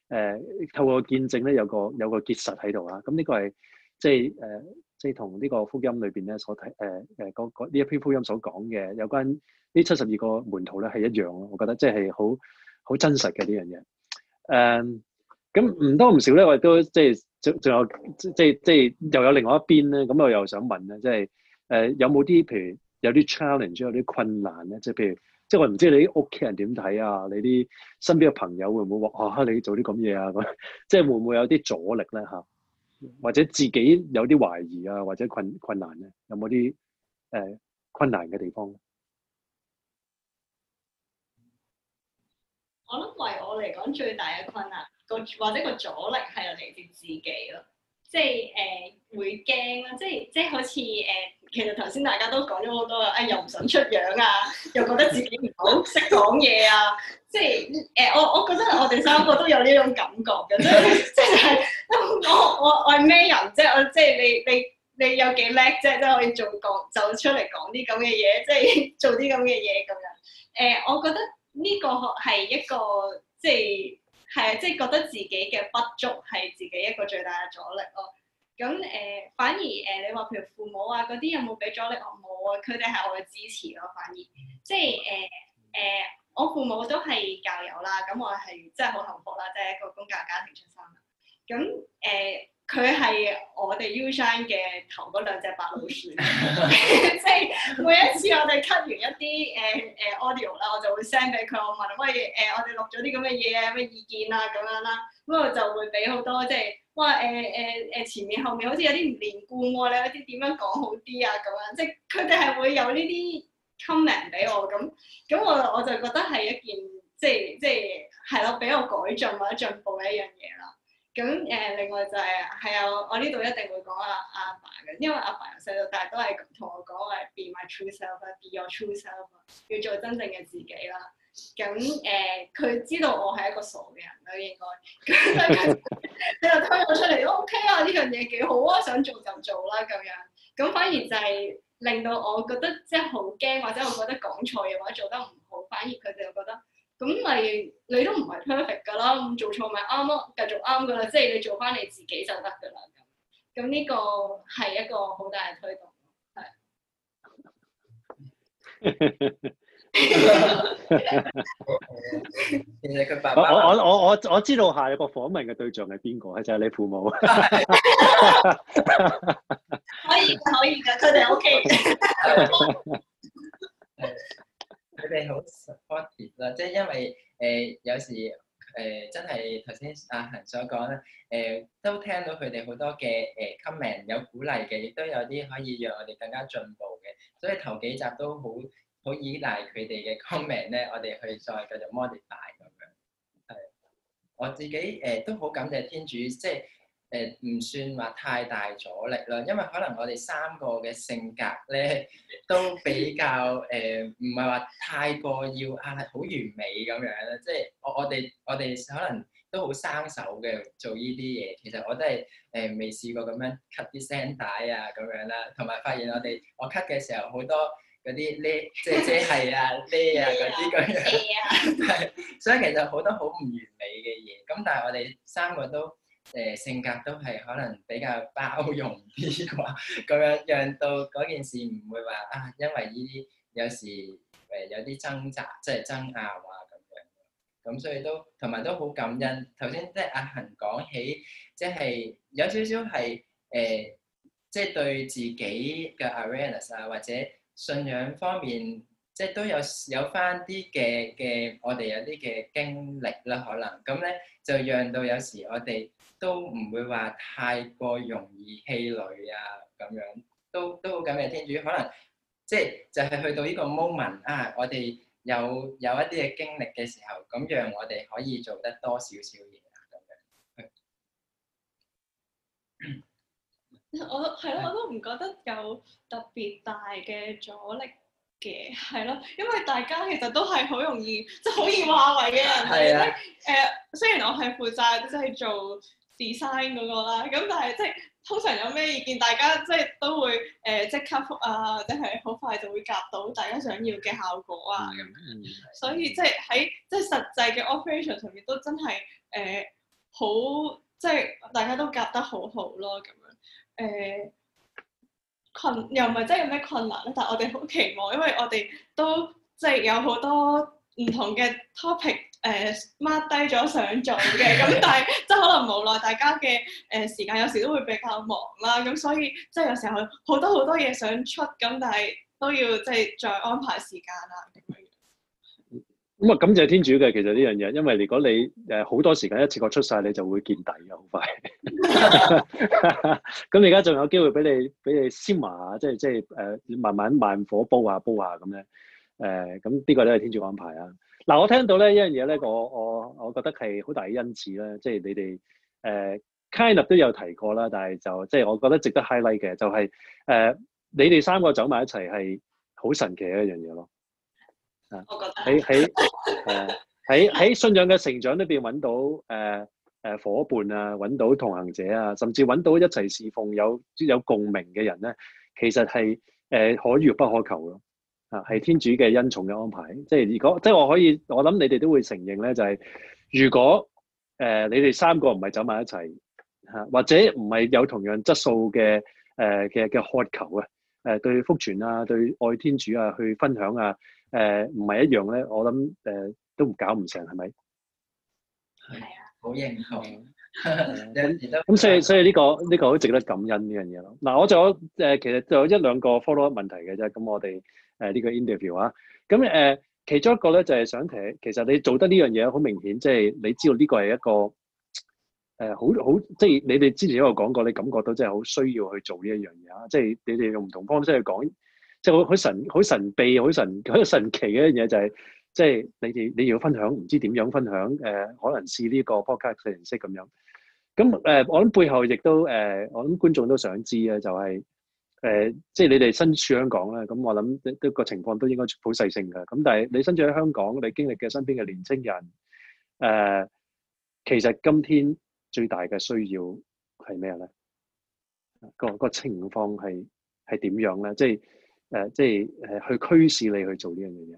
誒透過見證咧有個有個結實喺度啊。咁呢個係即係誒即係同呢個福音裏邊咧所睇誒誒嗰嗰呢一篇福音所講嘅有關呢七十二個門徒咧係一樣咯。我覺得即係好好真實嘅呢樣嘢。誒咁唔多唔少咧，我亦都即係仲仲有即係即係又有另外一邊咧。咁我又想問咧，即係誒有冇啲譬如有啲 challenge 有啲困難咧？即係譬如即係我唔知你啲屋企人點睇啊？你啲身邊嘅朋友會唔會話啊你做啲咁嘢啊？咁即係會唔會有啲阻力咧嚇？或者自己有啲懷疑啊，或者困困難咧？有冇啲誒困難嘅地方咧？ 我諗為我嚟講最大嘅困難個或者個阻力係嚟自自己咯，即係誒、呃、會驚啦，即係即係好似誒、呃，其實頭先大家都講咗好多啊、哎，又唔想出樣啊，又覺得自己唔好識講嘢啊，即係誒、呃、我我覺得我哋三個都有呢種感覺嘅，即係即係我我我係咩人即係我即係你你你有幾叻啫，即係可以做講走出嚟講啲咁嘅嘢，即係做啲咁嘅嘢咁樣。誒、呃，我覺得呢個係一個即係係即係覺得自己嘅不足係自己一個最大嘅阻力咯。咁誒、呃，反而誒、呃、你話譬如父母啊嗰啲有冇俾阻力？我冇啊，佢哋係我嘅支持咯。反而即係誒誒，我父母都係教友啦，咁我係真係好幸福啦，即係一個公教家庭出身啦。咁誒。佢係我哋 U-Shine 嘅頭嗰兩隻白老鼠，即係每一次我哋 cut 完一啲誒誒 audio 啦，我就會 send 俾佢，我問喂誒、呃，我哋錄咗啲咁嘅嘢啊，咩意見啊咁樣啦，咁我就會俾好多即係哇誒誒誒前面後面好似有啲唔連貫喎，你有啲點樣講好啲啊咁樣，即係佢哋係會有呢啲 comment 俾我咁，咁我我就覺得係一件即係即係係咯，俾我改進或者進步嘅一樣嘢啦。咁誒、呃，另外就係係啊，我呢度一定會講阿阿爸嘅，因為阿爸由細到大都係同我講話 be my true self，be your true self，要做真正嘅自己啦。咁誒，佢、呃、知道我係一個傻嘅人啦，應該。咁所以佢佢就推我出嚟都 OK 啊，呢樣嘢幾好啊，想做就做啦咁樣。咁反而就係令到我覺得即係好驚，或者我覺得講錯嘢或者做得唔好，反而佢哋又覺得。咁咪你都唔係 perfect 㗎啦，咁做錯咪啱咯，繼續啱㗎啦，即係你做翻你自己就得㗎啦。咁咁呢個係一個好大嘅推動，係。 其實佢爸爸我我我我我知道下一個訪問嘅對象係邊個，就係、是、你父母。 可以可以㗎，佢哋 OK 嘅。 佢哋好 supportive 啦，即係因為誒、呃、有時誒、呃、真係頭先阿恒所講啦，誒、呃、都聽到佢哋好多嘅誒 comment 有鼓勵嘅，亦都有啲可以讓我哋更加進步嘅，所以頭幾集都好好依賴佢哋嘅 comment 咧，我哋去再繼續 modify 咁樣。係，我自己誒、呃、都好感謝天主，即係。誒唔、呃、算話太大阻力啦，因為可能我哋三個嘅性格咧都比較誒，唔係話太過要啊好完美咁樣啦。即係我我哋我哋可能都好生手嘅做呢啲嘢。其實我都係誒未試過咁樣 cut 啲聲帶啊咁樣啦，同埋發現我哋我 cut 嘅時候好多嗰啲呢即係即係啊呢啊嗰啲咁樣，係所以其實好多好唔完美嘅嘢。咁但係我哋三個都。誒、呃、性格都係可能比較包容啲啩，咁樣讓到嗰件事唔會話啊，因為呢啲有時誒、呃、有啲掙扎，即係爭拗啊咁樣，咁所以都同埋都好感恩。頭先即係阿恒講起，即係有少少係誒，即係對自己嘅 awareness 啊，或者信仰方面，即係都有有翻啲嘅嘅，我哋有啲嘅經歷啦，可能咁咧就讓到有時我哋。都唔會話太過容易氣餒啊，咁樣都都好感謝天主，可能即係就係去到呢個 moment 啊，我哋有有一啲嘅經歷嘅時候，咁讓我哋可以做得多少少嘢啊，咁樣。 我係咯，我都唔覺得有特別大嘅阻力嘅，係咯，因為大家其實都係好容易即係好易話為嘅人嚟，即係誒雖然我係負責即係做。design 嗰個啦，咁但係即係通常有咩意見，大家即係都會誒、呃、即刻覆啊，或者係好快就會夾到大家想要嘅效果啊咁樣，嗯、所以即係喺即係實際嘅 operation 上面都真係誒好即係大家都夾得好好咯咁樣誒。呃困又唔係真係有咩困難咧，但係我哋好期望，因為我哋都即係有好多唔同嘅 topic 誒 mark 低咗想做嘅，咁但係即係可能無奈大家嘅誒、呃、時間有時都會比較忙啦，咁所以即係有時候好多好多嘢想出，咁但係都要即係再安排時間啦咁樣。 咁啊，感謝天主嘅，其實呢樣嘢，因為如果你誒好多時間一次過出晒，你就會見底嘅，好快。咁你而家仲有機會俾你俾你燒麻下，即係即係誒慢慢慢火煲下煲下咁咧。誒咁呢個都係天主安排啊。嗱，我聽到咧一樣嘢咧，我我我覺得係好大嘅恩賜啦，即係你哋誒、呃、kind of 都有提過啦，但係就即係我覺得值得 highlight 嘅就係、是、誒、呃、你哋三個走埋一齊係好神奇嘅一樣嘢咯。 我覺得喺喺誒喺喺信仰嘅成長裏邊揾到誒誒、呃呃、夥伴啊，揾到同行者啊，甚至揾到一齊侍奉有有共鳴嘅人咧，其實係誒、呃、可遇不可求咯。啊，係天主嘅恩寵嘅安排。即係如果即係我可以，我諗你哋都會承認咧，就係、是、如果誒、呃、你哋三個唔係走埋一齊嚇、啊，或者唔係有同樣質素嘅誒嘅嘅渴求啊，誒、呃、對福傳啊，對愛天主啊，去分享啊。誒唔係一樣咧，我諗誒、呃、都唔搞唔成，係咪？ 係啊，好認同。 咁所以所以呢、呢個呢、呢個好值得感恩呢樣嘢咯。嗱，我仲有誒、呃，其實就有一兩個 follow up 問題嘅啫。咁我哋誒呢個 interview 啊，咁誒、呃、其中一個咧就係、是、想提，其實你做得呢樣嘢好明顯，即、就、係、是、你知道呢個係一個誒好好，即係你哋之前都有講過，你感覺到真係好需要去做呢一樣嘢啊。即、就、係、是、你哋用唔同方式去講。即係好好神好神秘好神好神奇嘅一樣嘢就係、是，即係你哋你要分享，唔知點樣分享誒、呃，可能試呢個 podcast 嘅形式咁樣。咁誒、呃，我諗背後亦都誒、呃，我諗觀眾都想知咧，就係、是、誒、呃，即係你哋身處香港咧，咁我諗都個情況都應該好細性嘅。咁但係你身處喺香港，你經歷嘅身邊嘅年青人誒、呃，其實今天最大嘅需要係咩咧？個個情況係係點樣咧？即係。誒、呃，即係誒、呃，去驅使你去做呢樣嘢。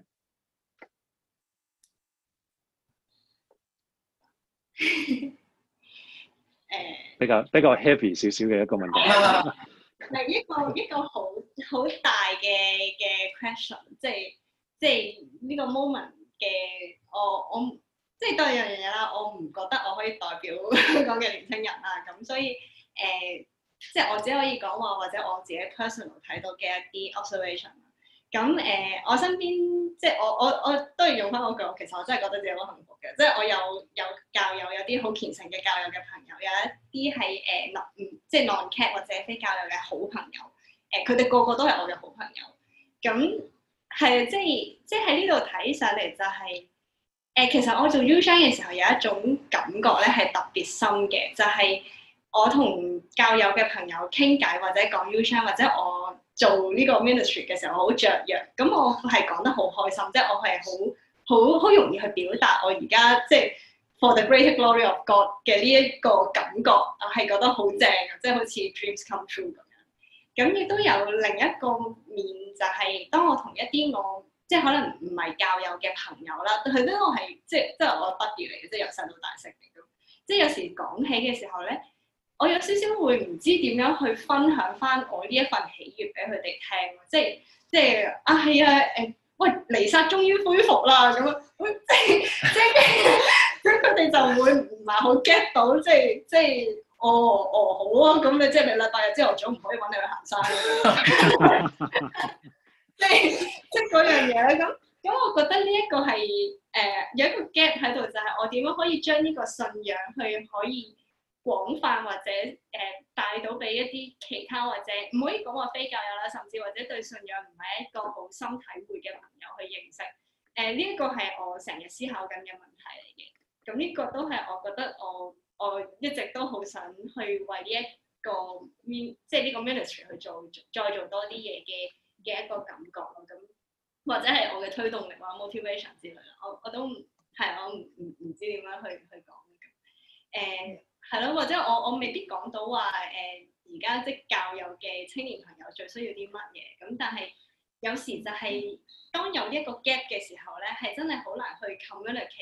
誒，比較比較 heavy 少少嘅一個問題。 係一個一個好好大嘅嘅 question，即係即係呢個 moment 嘅我我即係多樣嘢啦。我唔覺得我可以代表香港嘅年輕人啦，咁所以誒。呃即係我只可以講話，或者我自己 personal 睇到嘅一啲 observation。咁誒、呃，我身邊即係我我我都要用翻嗰句，其實我真係覺得自己好幸福嘅。即係我有有教友，有啲好虔誠嘅教友嘅朋友，有一啲係誒 non 即係 non-Cat 或者非教友嘅好朋友。誒、呃，佢哋個個都係我嘅好朋友。咁係即係即係喺呢度睇上嚟就係、是、誒、呃，其實我做 U-Shine 嘅時候有一種感覺咧係特別深嘅，就係、是。我同教友嘅朋友傾偈，或者講 U-Shine，或者我做呢個 ministry 嘅時候，我好雀躍。咁我係講得好開心，即係我係好好好容易去表達我而家即係 for the greater glory of God 嘅呢一個感覺，我係覺得好正嘅，即係好似 dreams come true 咁樣。咁亦都有另一個面，就係、是、當我同一啲我即係可能唔係教友嘅朋友啦，佢都我係即係即係我 buddy 嚟嘅，即係由細到大識嚟嘅。即係有時講起嘅時候咧。我有少少會唔知點樣去分享翻我呢一份喜悅俾佢哋聽，即係即係啊係啊誒，喂彌撒終於恢復啦咁樣，即係即係即係佢哋就會唔係好 get 到，即係即係哦哦好啊，咁你即係你禮拜日朝頭早唔可以揾你去行山，即係即係嗰樣嘢咁咁，我覺得呢一個係誒、呃、有一個 gap 喺度，就係、是、我點樣可以將呢個信仰去可以。廣泛或者誒、呃、帶到俾一啲其他或者唔可以講話非教友啦，甚至或者對信仰唔係一個好深體會嘅朋友去認識誒呢一個係我成日思考緊嘅問題嚟嘅。咁呢個都係我覺得我我一直都好想去為呢一個 min 即係呢個 ministry 去做再做多啲嘢嘅嘅一個感覺咯。咁或者係我嘅推動力或者 motivation 之類啦。我我都係我唔唔唔知點樣去去講嘅誒。係咯，或者我我未必講到話誒，而家即係教友嘅青年朋友最需要啲乜嘢咁，但係有時就係當有一個 gap 嘅時候咧，係真係好難去 communicate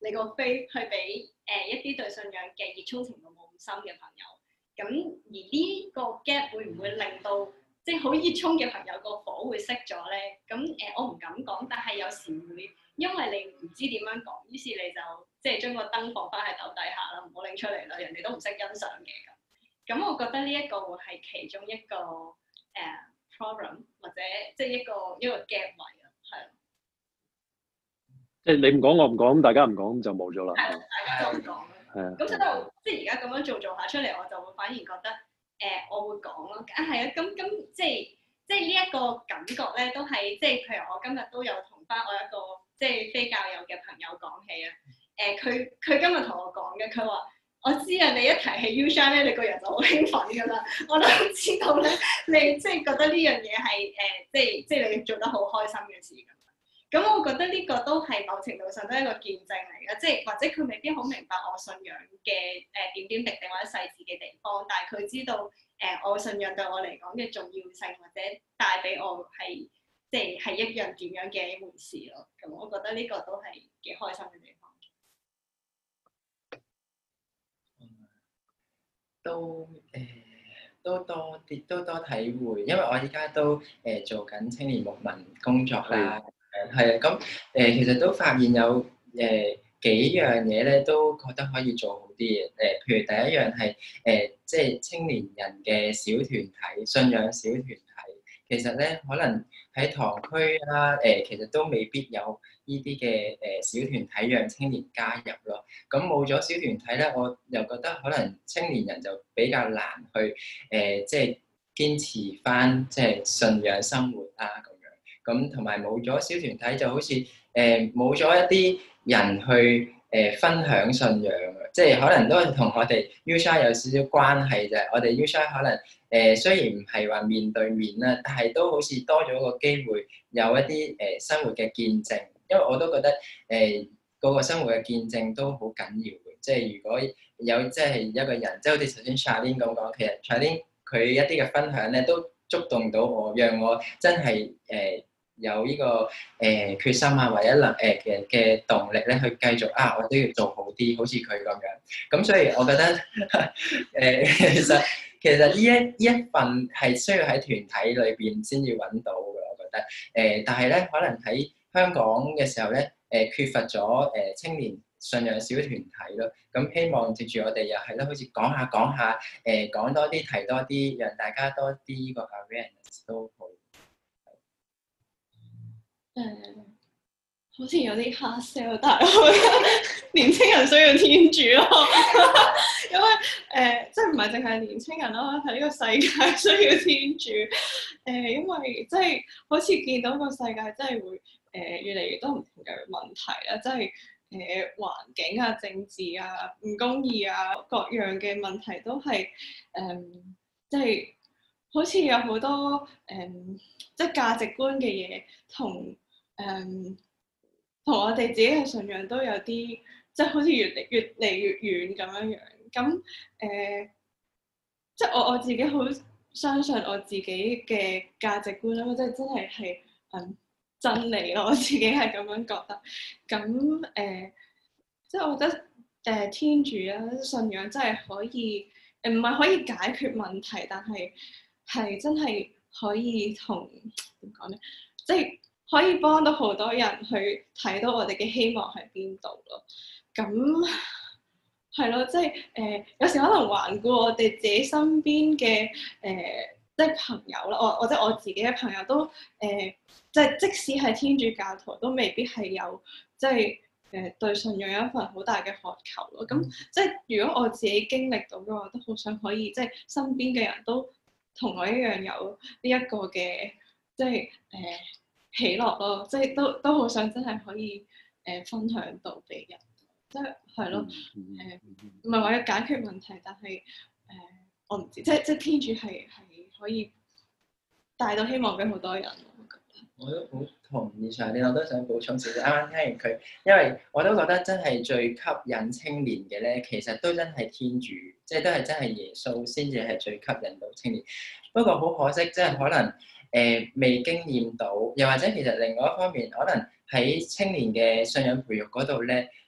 你個 faith 去俾誒一啲對信仰嘅熱衷程度冇咁深嘅朋友。咁而呢個 gap 會唔會令到即係好熱衷嘅朋友個火會熄咗咧？咁誒、呃、我唔敢講，但係有時會因為你唔知點樣講，於是你就即係將個燈放翻喺斗底下啦，唔好拎出嚟啦，人哋都唔識欣賞嘅咁。咁我覺得呢一個會係其中一個誒、uh, problem 或者即係一個一個 gap 位啊，係。 即係你唔講我唔講，咁大家唔講咁就冇咗啦。 係，大家都唔講啦。 係啊。 咁所以就即係而家咁樣做做下出嚟，我就會反而覺得誒、呃，我會講咯。啊係啊，咁咁即係即係呢一個感覺咧，都係即係譬如我今日都有同翻我一個即係非教友嘅朋友講起啊。誒、呃，佢佢今日同我講嘅，佢話。我知啊，你一提起 U-Shine 咧，你個人就好興奮㗎啦。我都知道咧，你即係覺得呢樣嘢係誒，即係即係你做得好開心嘅事咁。咁我覺得呢個都係某程度上都係一個見證嚟嘅，即係或者佢未必好明白我信仰嘅誒點點滴滴或者細緻嘅地方，但係佢知道誒、呃、我信仰對我嚟講嘅重要性，或者帶俾我係即係係一樣點樣嘅一回事咯。咁我覺得呢個都係幾開心嘅地方。 都誒、呃、都多啲都多體會，因為我依家都誒、呃、做緊青年牧民工作啦，誒係啊，咁誒、呃、其實都發現有誒、呃、幾樣嘢咧，都覺得可以做好啲嘅。誒、呃，譬如第一樣係誒即係青年人嘅小團體、信仰小團體，其實咧可能喺堂區啦，誒、呃、其實都未必有呢啲嘅誒小團體讓青年加入咯。咁冇咗小團體咧，我又覺得可能青年人就比較難去誒、呃，即係堅持返即係信仰生活啦咁樣。咁同埋冇咗小團體，就好似誒冇咗一啲人去誒、呃、分享信仰，即係可能都係同我哋 U-Shine 有少少關係啫。我哋 U-Shine 可能誒、呃、雖然唔係話面對面啦，但係都好似多咗個機會，有一啲誒、呃、生活嘅見證。因為我都覺得誒。呃嗰個生活嘅見證都好緊要嘅，即係如果有即係一個人，即係好似頭先 Charlene 咁講，其實 Charlene 佢一啲嘅分享咧都觸動到我，讓我真係誒、呃、有呢、這個誒、呃、決心啊，或者能誒嘅嘅動力咧去繼續啊，我都要做好啲，好似佢咁樣。咁所以我覺得誒、呃、其實其實呢一呢一份係需要喺團體裏邊先至揾到嘅，我覺得誒、呃，但係咧可能喺香港嘅時候咧。誒、呃、缺乏咗誒、呃、青年信仰小團體咯，咁希望藉住我哋又係咯，好似講下講下，誒、呃、講多啲提多啲，讓大家多啲個 awareness 都好。 誒、uh, 好似有啲 hard sell，但係我覺得年青人需要天主咯，因為誒、呃、即係唔係淨係年青人咯，係呢個世界需要天主。誒、呃，因為即係好似見到個世界真係會誒、呃、越嚟越多唔同嘅問題啦，即係誒環境啊、政治啊、唔公義啊各樣嘅問題都係誒、呃、即係好似有好多誒、呃、即係價值觀嘅嘢同誒同我哋自己嘅信仰都有啲即係好似越嚟越嚟越遠咁樣樣。咁誒、呃、即係我我自己好相信我自己嘅價值觀啦，即係真係係嗯真理咯，我自己係咁樣覺得。咁誒、呃、即係我覺得誒、呃、天主啊信仰真係可以誒唔係可以解決問題，但係係真係可以同點講咧，即係可以幫到好多人去睇到我哋嘅希望喺邊度咯。咁係咯，即係誒、呃、有時可能環顧我哋自己身邊嘅誒、呃、即係朋友啦，我或者我自己嘅朋友都誒、呃、即係即使係天主教徒，都未必係有即係誒、呃、對信仰有一份好大嘅渴求咯。咁即係如果我自己經歷到嘅話，都好想可以即係身邊嘅人都同我一樣有呢一個嘅即係誒、呃、喜樂咯，即係都都好想真係可以誒、呃、分享到俾人。即係係咯，誒唔係話要解決問題，但係誒、呃、我唔知，即係即係天主係係可以帶到希望俾好多人。我覺得我都好同意上年，我都想補充少少。啱啱聽完佢，因為我都覺得真係最吸引青年嘅咧，其實都真係天主，即係都係真係耶穌先至係最吸引到青年。不過好可惜，即係可能誒、呃、未經驗到，又或者其實另外一方面，可能喺青年嘅信仰培育嗰度咧。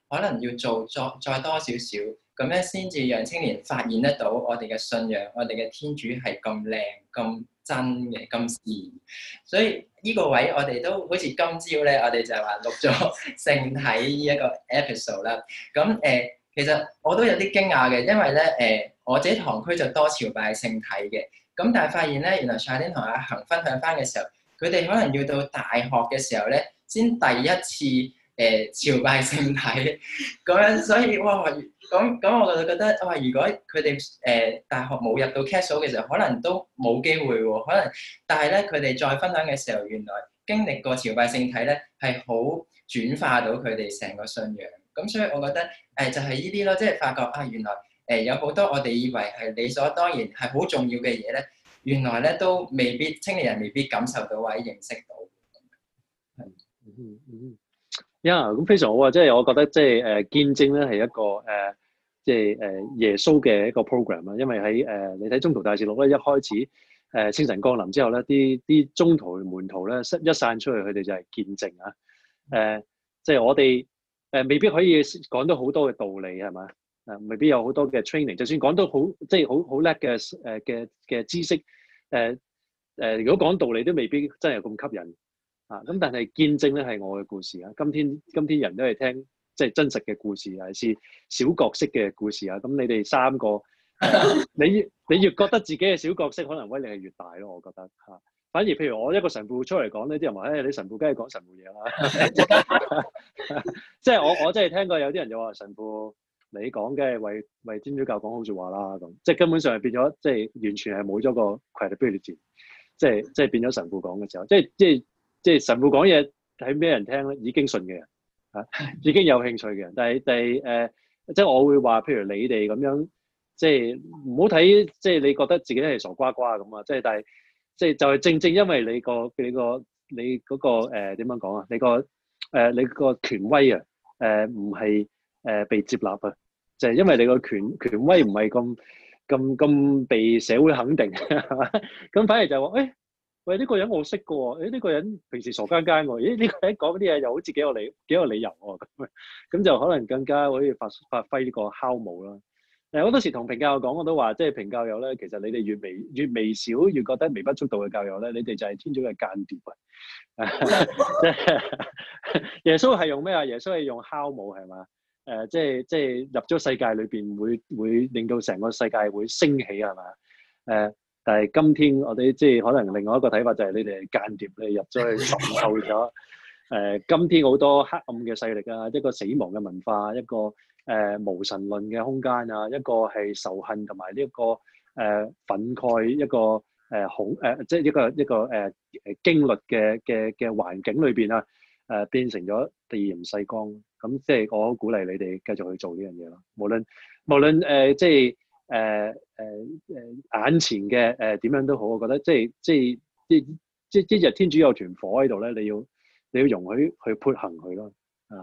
可能要做再再多少少，咁樣先至讓青年發現得到我哋嘅信仰，我哋嘅天主係咁靚、咁真嘅、咁善。所以呢個位我哋都好似今朝咧，我哋就係話錄咗聖體呢一個 episode 啦。咁誒、呃，其實我都有啲驚訝嘅，因為咧誒、呃，我自己堂區就多朝拜聖體嘅，咁但係發現咧，原來上天同阿恒分享翻嘅時候，佢哋可能要到大學嘅時候咧，先第一次。誒、呃、朝拜聖體咁樣，所以哇咁咁，我就覺得哇，如果佢哋誒大學冇入到 Castle 嘅時候，可能都冇機會喎。可能，但係咧，佢哋再分享嘅時候，原來經歷過朝拜聖體咧，係好轉化到佢哋成個信仰。咁所以我覺得誒、呃、就係呢啲咯，即係發覺啊，原來誒、呃、有好多我哋以為係理所當然係好重要嘅嘢咧，原來咧都未必青年人未必感受到或者認識到。係， 嗯嗯。呀，咁非常好啊！即係我覺得即係誒見證咧係一個誒即係誒耶穌嘅一個 program 啊。因為喺誒、呃、你睇中途大事錄咧，一開始誒聖神降臨之後咧，啲啲中途門徒咧一散出去，佢哋就係見證啊。誒即係我哋誒、呃、未必可以講到好多嘅道理係嘛？誒未必有好多嘅 training，就算講到好即係好好叻嘅誒嘅嘅知識誒誒、呃呃，如果講道理都未必真係咁吸引。啊！咁但係見證咧係我嘅故事啊！今天今天人都係聽即係真實嘅故事，係是小角色嘅故事啊！咁你哋三個，呃、你你越覺得自己嘅小角色，可能威力係越大咯。我覺得嚇、啊。反而譬如我一個神父出嚟講呢啲人話：誒、哎、你神父梗係講神父嘢啦。即係我我真係聽過有啲人就話神父你講嘅係為為天主教講好説話啦咁，即係根本上係變咗，即係完全係冇咗個 credibility，即係即係變咗神父講嘅時候，即係即係。即係神父講嘢睇咩人聽咧？已經信嘅人嚇，已經有興趣嘅人。但係但係誒，即係我會話，譬如你哋咁樣，即係唔好睇，即係你覺得自己係傻瓜瓜咁啊！即係但係，即係就係正正因為你個你個你嗰個誒點樣講啊？你個誒你個權威啊誒唔係誒被接納啊，就係因為你個權權威唔係咁咁咁被社會肯定係嘛？咁反而就話誒。喂，呢、這個人我識嘅喎，誒、這、呢個人平時傻更更喎，咦呢、這個人講啲嘢又好似幾有理幾有理由喎，咁咁就可能更加可以發發揮呢個酵母啦。誒好多時同評教友講我都話，即係評教友咧，其實你哋越微越微小，越覺得微不足道嘅教友咧，你哋就係天主嘅間諜啊！即係耶穌係用咩啊？耶穌係用酵母係嘛？誒、呃、即係即係入咗世界裏邊會會令到成個世界會升起係嘛？誒。呃但係今天我哋即係可能另外一個睇法就係你哋係間諜，你入咗去滲透咗。誒、呃，今天好多黑暗嘅勢力啊，一個死亡嘅文化，一個誒、呃、無神論嘅空間啊，一個係仇恨同埋呢一個誒、呃、憤慨，一個誒恐誒即係一個一個誒誒經律嘅嘅嘅環境裏邊啊，誒、呃、變成咗地鹽世光。咁即係我好鼓勵你哋繼續去做呢樣嘢咯。無論無論誒、呃、即係。誒誒誒眼前嘅誒點樣都好，我覺得即係即係即即即日天主有團火喺度咧，你要你要容許去潑行佢咯，啊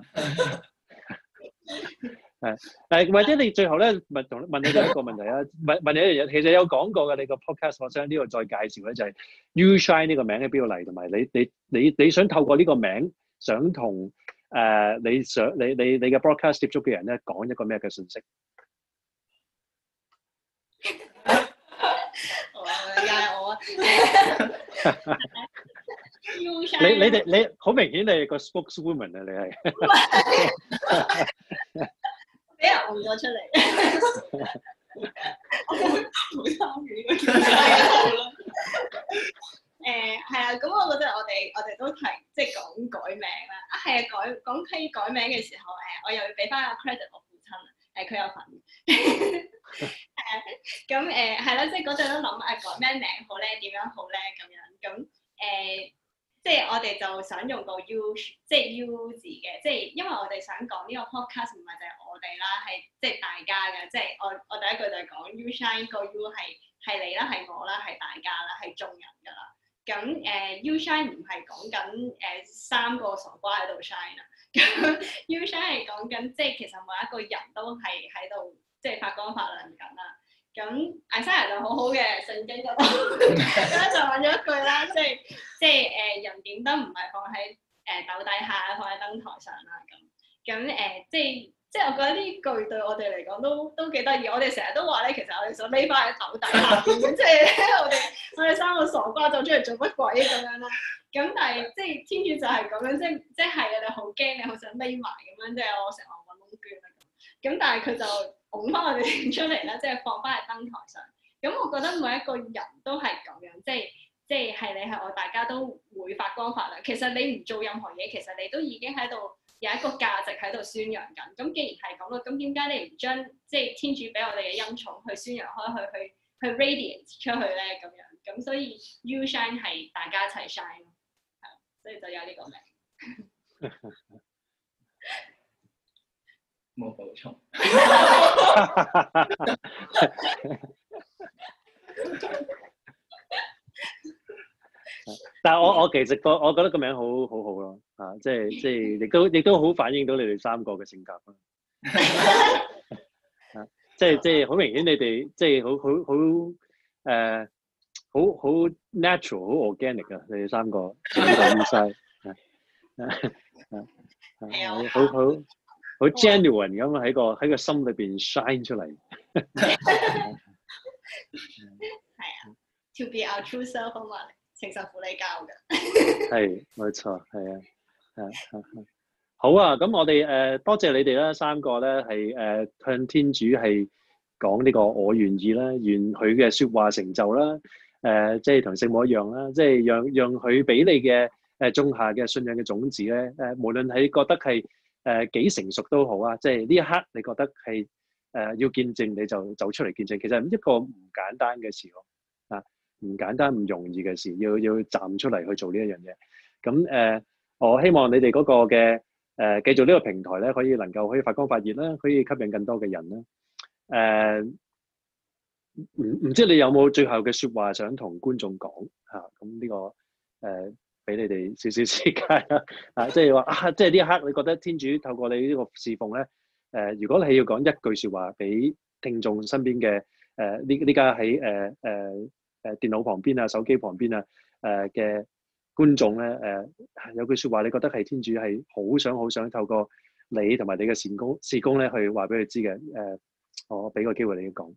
誒誒或者你最後咧問同問你哋一個問題啊，問問你一樣嘢，其實有講過嘅你個 podcast，我想呢度再介紹咧就係 U Shine 呢個名喺邊度嚟，同埋你你你你想透過呢個名想同誒、呃、你想你你你嘅 broadcast 接觸嘅人咧講一個咩嘅信息？ 又係我啊！ 你你哋你好明顯你係個 spokeswoman 啊！你係俾人換咗出嚟， 我會會參與呢個叫咩啦？ 誒係啊，咁我覺得我哋我哋都提即係講改名啦。啊係啊，改講起改名嘅時候，誒我又要俾翻個 credit 我父親啊，誒佢有份。誒咁誒係啦，即係嗰陣都諗誒改咩名好咧，點樣好咧咁樣咁誒、呃，即係我哋就想用個 U， 即係 U 字嘅，即係因為我哋想講呢個 podcast 唔係就係我哋啦，係即係大家嘅，即係我我第一句就係講 U Shine 個 U 係係你啦，係我啦，係大家啦，係眾人㗎啦。咁誒、呃、U Shine 唔係講緊誒三個傻瓜喺度 shine 啊，咁 U Shine 係講緊即係其實每一個人都係喺度。即係發光發亮緊啦，咁艾莎就好好嘅，聖經嗰度咁就揾咗一句啦，即係即係誒人點燈唔係放喺誒斗底下，放喺燈台上啦咁。 咁誒、呃，即係即係我覺得呢句對我哋嚟講都都幾得意。我哋成日都話咧，其實我哋想匿翻喺頭底下邊嘅，即係我哋我哋三個傻瓜走出嚟做乜鬼咁樣啦。咁但係即係天主就係咁樣，即係即係你好驚，你好想匿埋咁樣，即係我成日揾窿捐啦咁。咁但係佢就拱翻我哋出嚟啦，即係放翻喺燈台上。咁我覺得每一個人都係咁樣，即係即係係你係我，大家都會發光發亮。其實你唔做任何嘢，其實你都已經喺度有一個價值喺度宣揚緊。咁既然係咁啦，咁點解你唔將即係天主俾我哋嘅恩寵去宣揚開去，去去 radiate 出去咧？咁樣咁所以 You Shine 係大家一齊 shine 咯，係，所以就有呢個名。 冇補充。 但係我我其實個我覺得個名好好好咯，啊，即係即係亦都亦都好反映到你哋三個嘅性格咯，啊，即係即係好明顯你哋即係好好好誒好好 natural 好 organic 啊，你哋三個三個咁晒，啊好好好 genuine 咁喺個喺個心裏邊 shine 出嚟。 係啊 ，to be our true self 啊嘛，情神父你教嘅。 係，冇錯，係啊，係係好啊！咁我哋誒、呃、多謝你哋啦，三個咧係誒向天主係講呢個我願意啦，願佢嘅説話成就啦，誒、呃、即係同聖母一樣啦，即係讓讓佢俾你嘅誒種下嘅信仰嘅種子咧，誒、呃、無論係覺得係誒幾成熟都好啊，即係呢一刻你覺得係誒、呃、要見證你就走出嚟見證，其實一個唔簡單嘅事咯，啊唔簡單唔容易嘅事，要要站出嚟去做呢一樣嘢。咁誒、呃，我希望你哋嗰個嘅誒、呃、繼續呢個平台咧，可以能夠可以發光發熱啦，可以吸引更多嘅人啦。誒、呃，唔唔知你有冇最後嘅説話想同觀眾講嚇？咁、啊、呢、這個誒俾、呃、你哋少少時間啦。啊，即係話啊，即係呢一刻你覺得天主透過你呢個侍奉咧，誒、呃，如果你係要講一句説話俾聽眾身邊嘅誒呢呢家喺誒誒。呃呃誒電腦旁邊啊、手機旁邊啊、誒嘅觀眾咧，誒有句説話，你覺得係天主係好想好想透過你同埋你嘅善工事工咧，去話俾佢知嘅。誒，我俾個機會你講。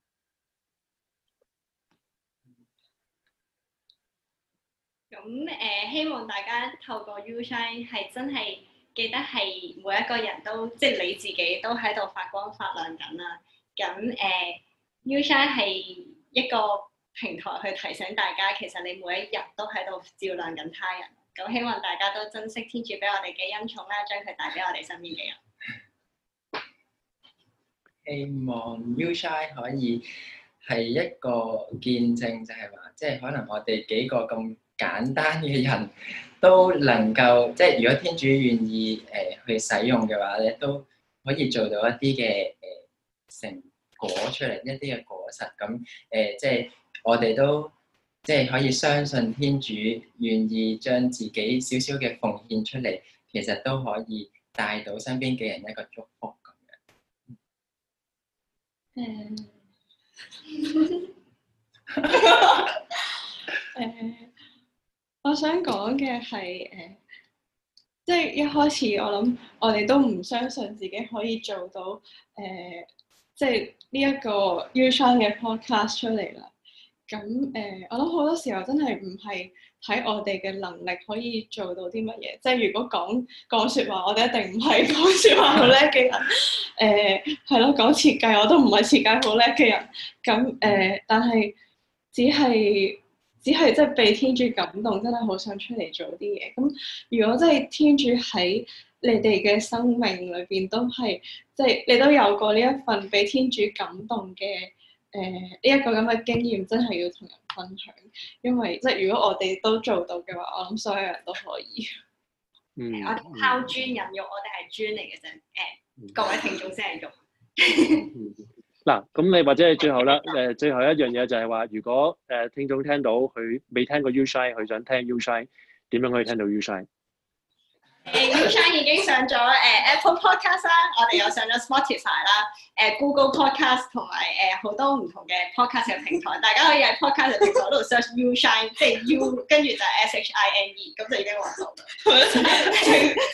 咁誒、呃，希望大家透過 You Shine 係真係記得係每一個人都即係你自己都喺度發光發亮緊啦。咁誒、呃、You Shine 係一個平台去提醒大家，其實你每一日都喺度照亮緊他人。咁希望大家都珍惜天主俾我哋嘅恩寵啦，將佢帶俾我哋身邊嘅人。希望 You Shine 可以係一個見證，就係話，即係可能我哋幾個咁簡單嘅人都能夠，即係如果天主願意誒、呃、去使用嘅話咧，都可以做到一啲嘅誒成果出嚟，一啲嘅果實。咁誒、呃、即係。我哋都即係可以相信天主願意將自己少少嘅奉獻出嚟，其實都可以帶到身邊嘅人一個祝福咁樣。 誒，誒，我想講嘅係誒，即係一開始我諗我哋都唔相信自己可以做到誒、呃，即係呢一個 You Shine 嘅 podcast 出嚟啦。咁誒、呃，我諗好多時候真係唔係睇我哋嘅能力可以做到啲乜嘢。即係如果講講説話，我哋一定唔係講説話好叻嘅人。誒係咯，講設計我都唔係設計好叻嘅人。咁誒、呃，但係只係只係即係被天主感動，真係好想出嚟做啲嘢。咁如果真係天主喺你哋嘅生命裏邊都係，即係你都有過呢一份被天主感動嘅。誒呢一個咁嘅經驗真係要同人分享，因為即係如果我哋都做到嘅話，我諗所有人都可以。 嗯， 我哋拋磚引玉，我哋係磚嚟嘅啫。誒、呃，各位聽眾先係玉。 嗱，咁你或者係最後啦，誒最後一樣嘢就係話，如果誒聽眾聽到佢未聽過 You Shine，佢想聽 You Shine，點樣可以聽到 You Shine？ 誒 You Shine 已經上咗誒、呃、Apple Podcast 啦，我哋又上咗 Spotify 啦，誒、呃、Google Podcast 同埋誒好多唔同嘅 Podcast 嘅平台，大家可以喺 Podcast 嘅平台度 search You Shine，即係 U 跟住就係 S H I N E， 咁就已經揾到啦。 情情神父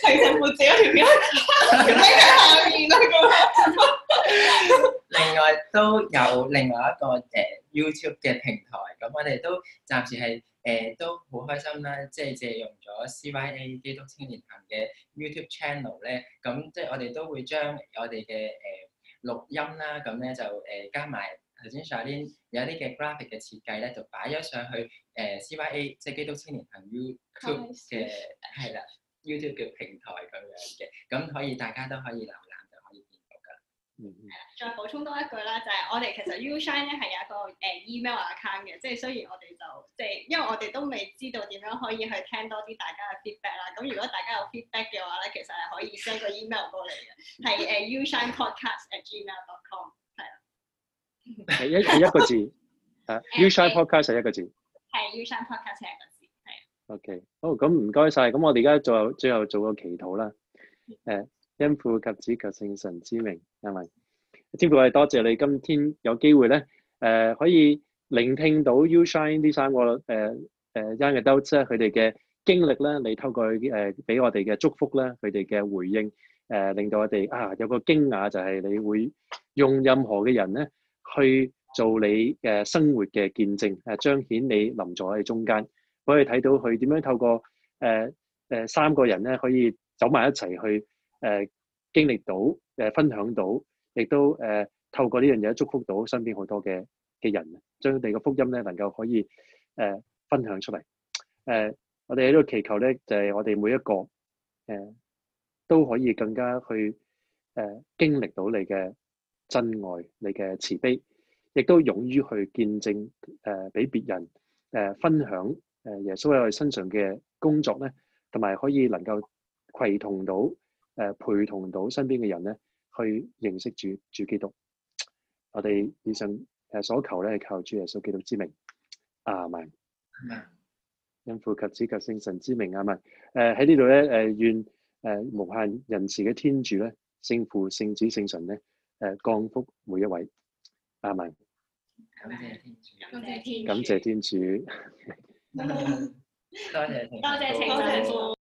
自己條片喺下面啦咁。 另外都有另外一個誒、呃、YouTube 嘅平台，咁我哋都暫時係誒、呃、都好開心啦，即係借用咗 C Y A 基督青年行嘅 YouTube channel 咧，咁即係我哋都會將我哋嘅誒錄音啦，咁咧就誒、呃、加埋頭先 Charlene 有一啲嘅 graphic 嘅設計咧，就擺咗上去誒、呃、C Y A 即係基督青年行 YouTube 嘅係啦 YouTube 嘅平台咁樣嘅，咁可以大家都可以瀏覽就可以見到㗎。 嗯再補充多一句啦，就係、是、我哋其實 Ushine 咧係有一個誒、呃、email account 嘅，即係雖然我哋就即係因為我哋都未知道點樣可以去聽多啲大家嘅 feedback 啦。咁如果大家有 feedback 嘅話咧，其實係可以 send 個 email 過嚟嘅，係誒、呃、ushinepodcast at gmail dot com 係啦。 係一係一個字，誒 Ushine Podcast 係一個字。 係 Ushine Podcast 係一個字，係。 OK，好，咁唔該晒。咁我哋而家最後最後做個祈禱啦。誒，因父及子及聖神之名，係咪？天父，我哋多謝你今天有機會咧，誒、呃、可以聆聽到 Ushine 呢三個誒誒 young adults 咧佢哋嘅經歷咧，你透過誒俾、呃、我哋嘅祝福咧，佢哋嘅回應誒、呃，令到我哋啊有個驚訝，就係你會用任何嘅人咧去做你嘅生活嘅見證，誒彰顯你臨在喺中間，可以睇到佢點樣透過誒誒、呃呃、三個人咧可以走埋一齊去誒、呃、經歷到誒、呃、分享到。亦都誒、呃、透過呢樣嘢祝福到身邊好多嘅嘅人，將你嘅福音咧能夠可以誒、呃、分享出嚟。誒、呃，我哋喺度祈求咧，就係、是、我哋每一個誒、呃、都可以更加去誒、呃、經歷到你嘅真愛、你嘅慈悲，亦都勇於去見證誒俾別人誒、呃、分享誒耶穌喺我哋身上嘅工作咧，同埋可以能夠攜同到誒、呃、陪同到身邊嘅人咧。去認識主主基督，我哋以上誒所求咧係靠主耶穌基督之名，阿們。因父及子及聖神之名，阿們。誒喺呢度咧誒願誒無限仁慈嘅天主咧，聖父聖子聖神咧誒降福每一位，阿們。 感謝天主， 感謝天主， 感謝天主。 多謝多謝多謝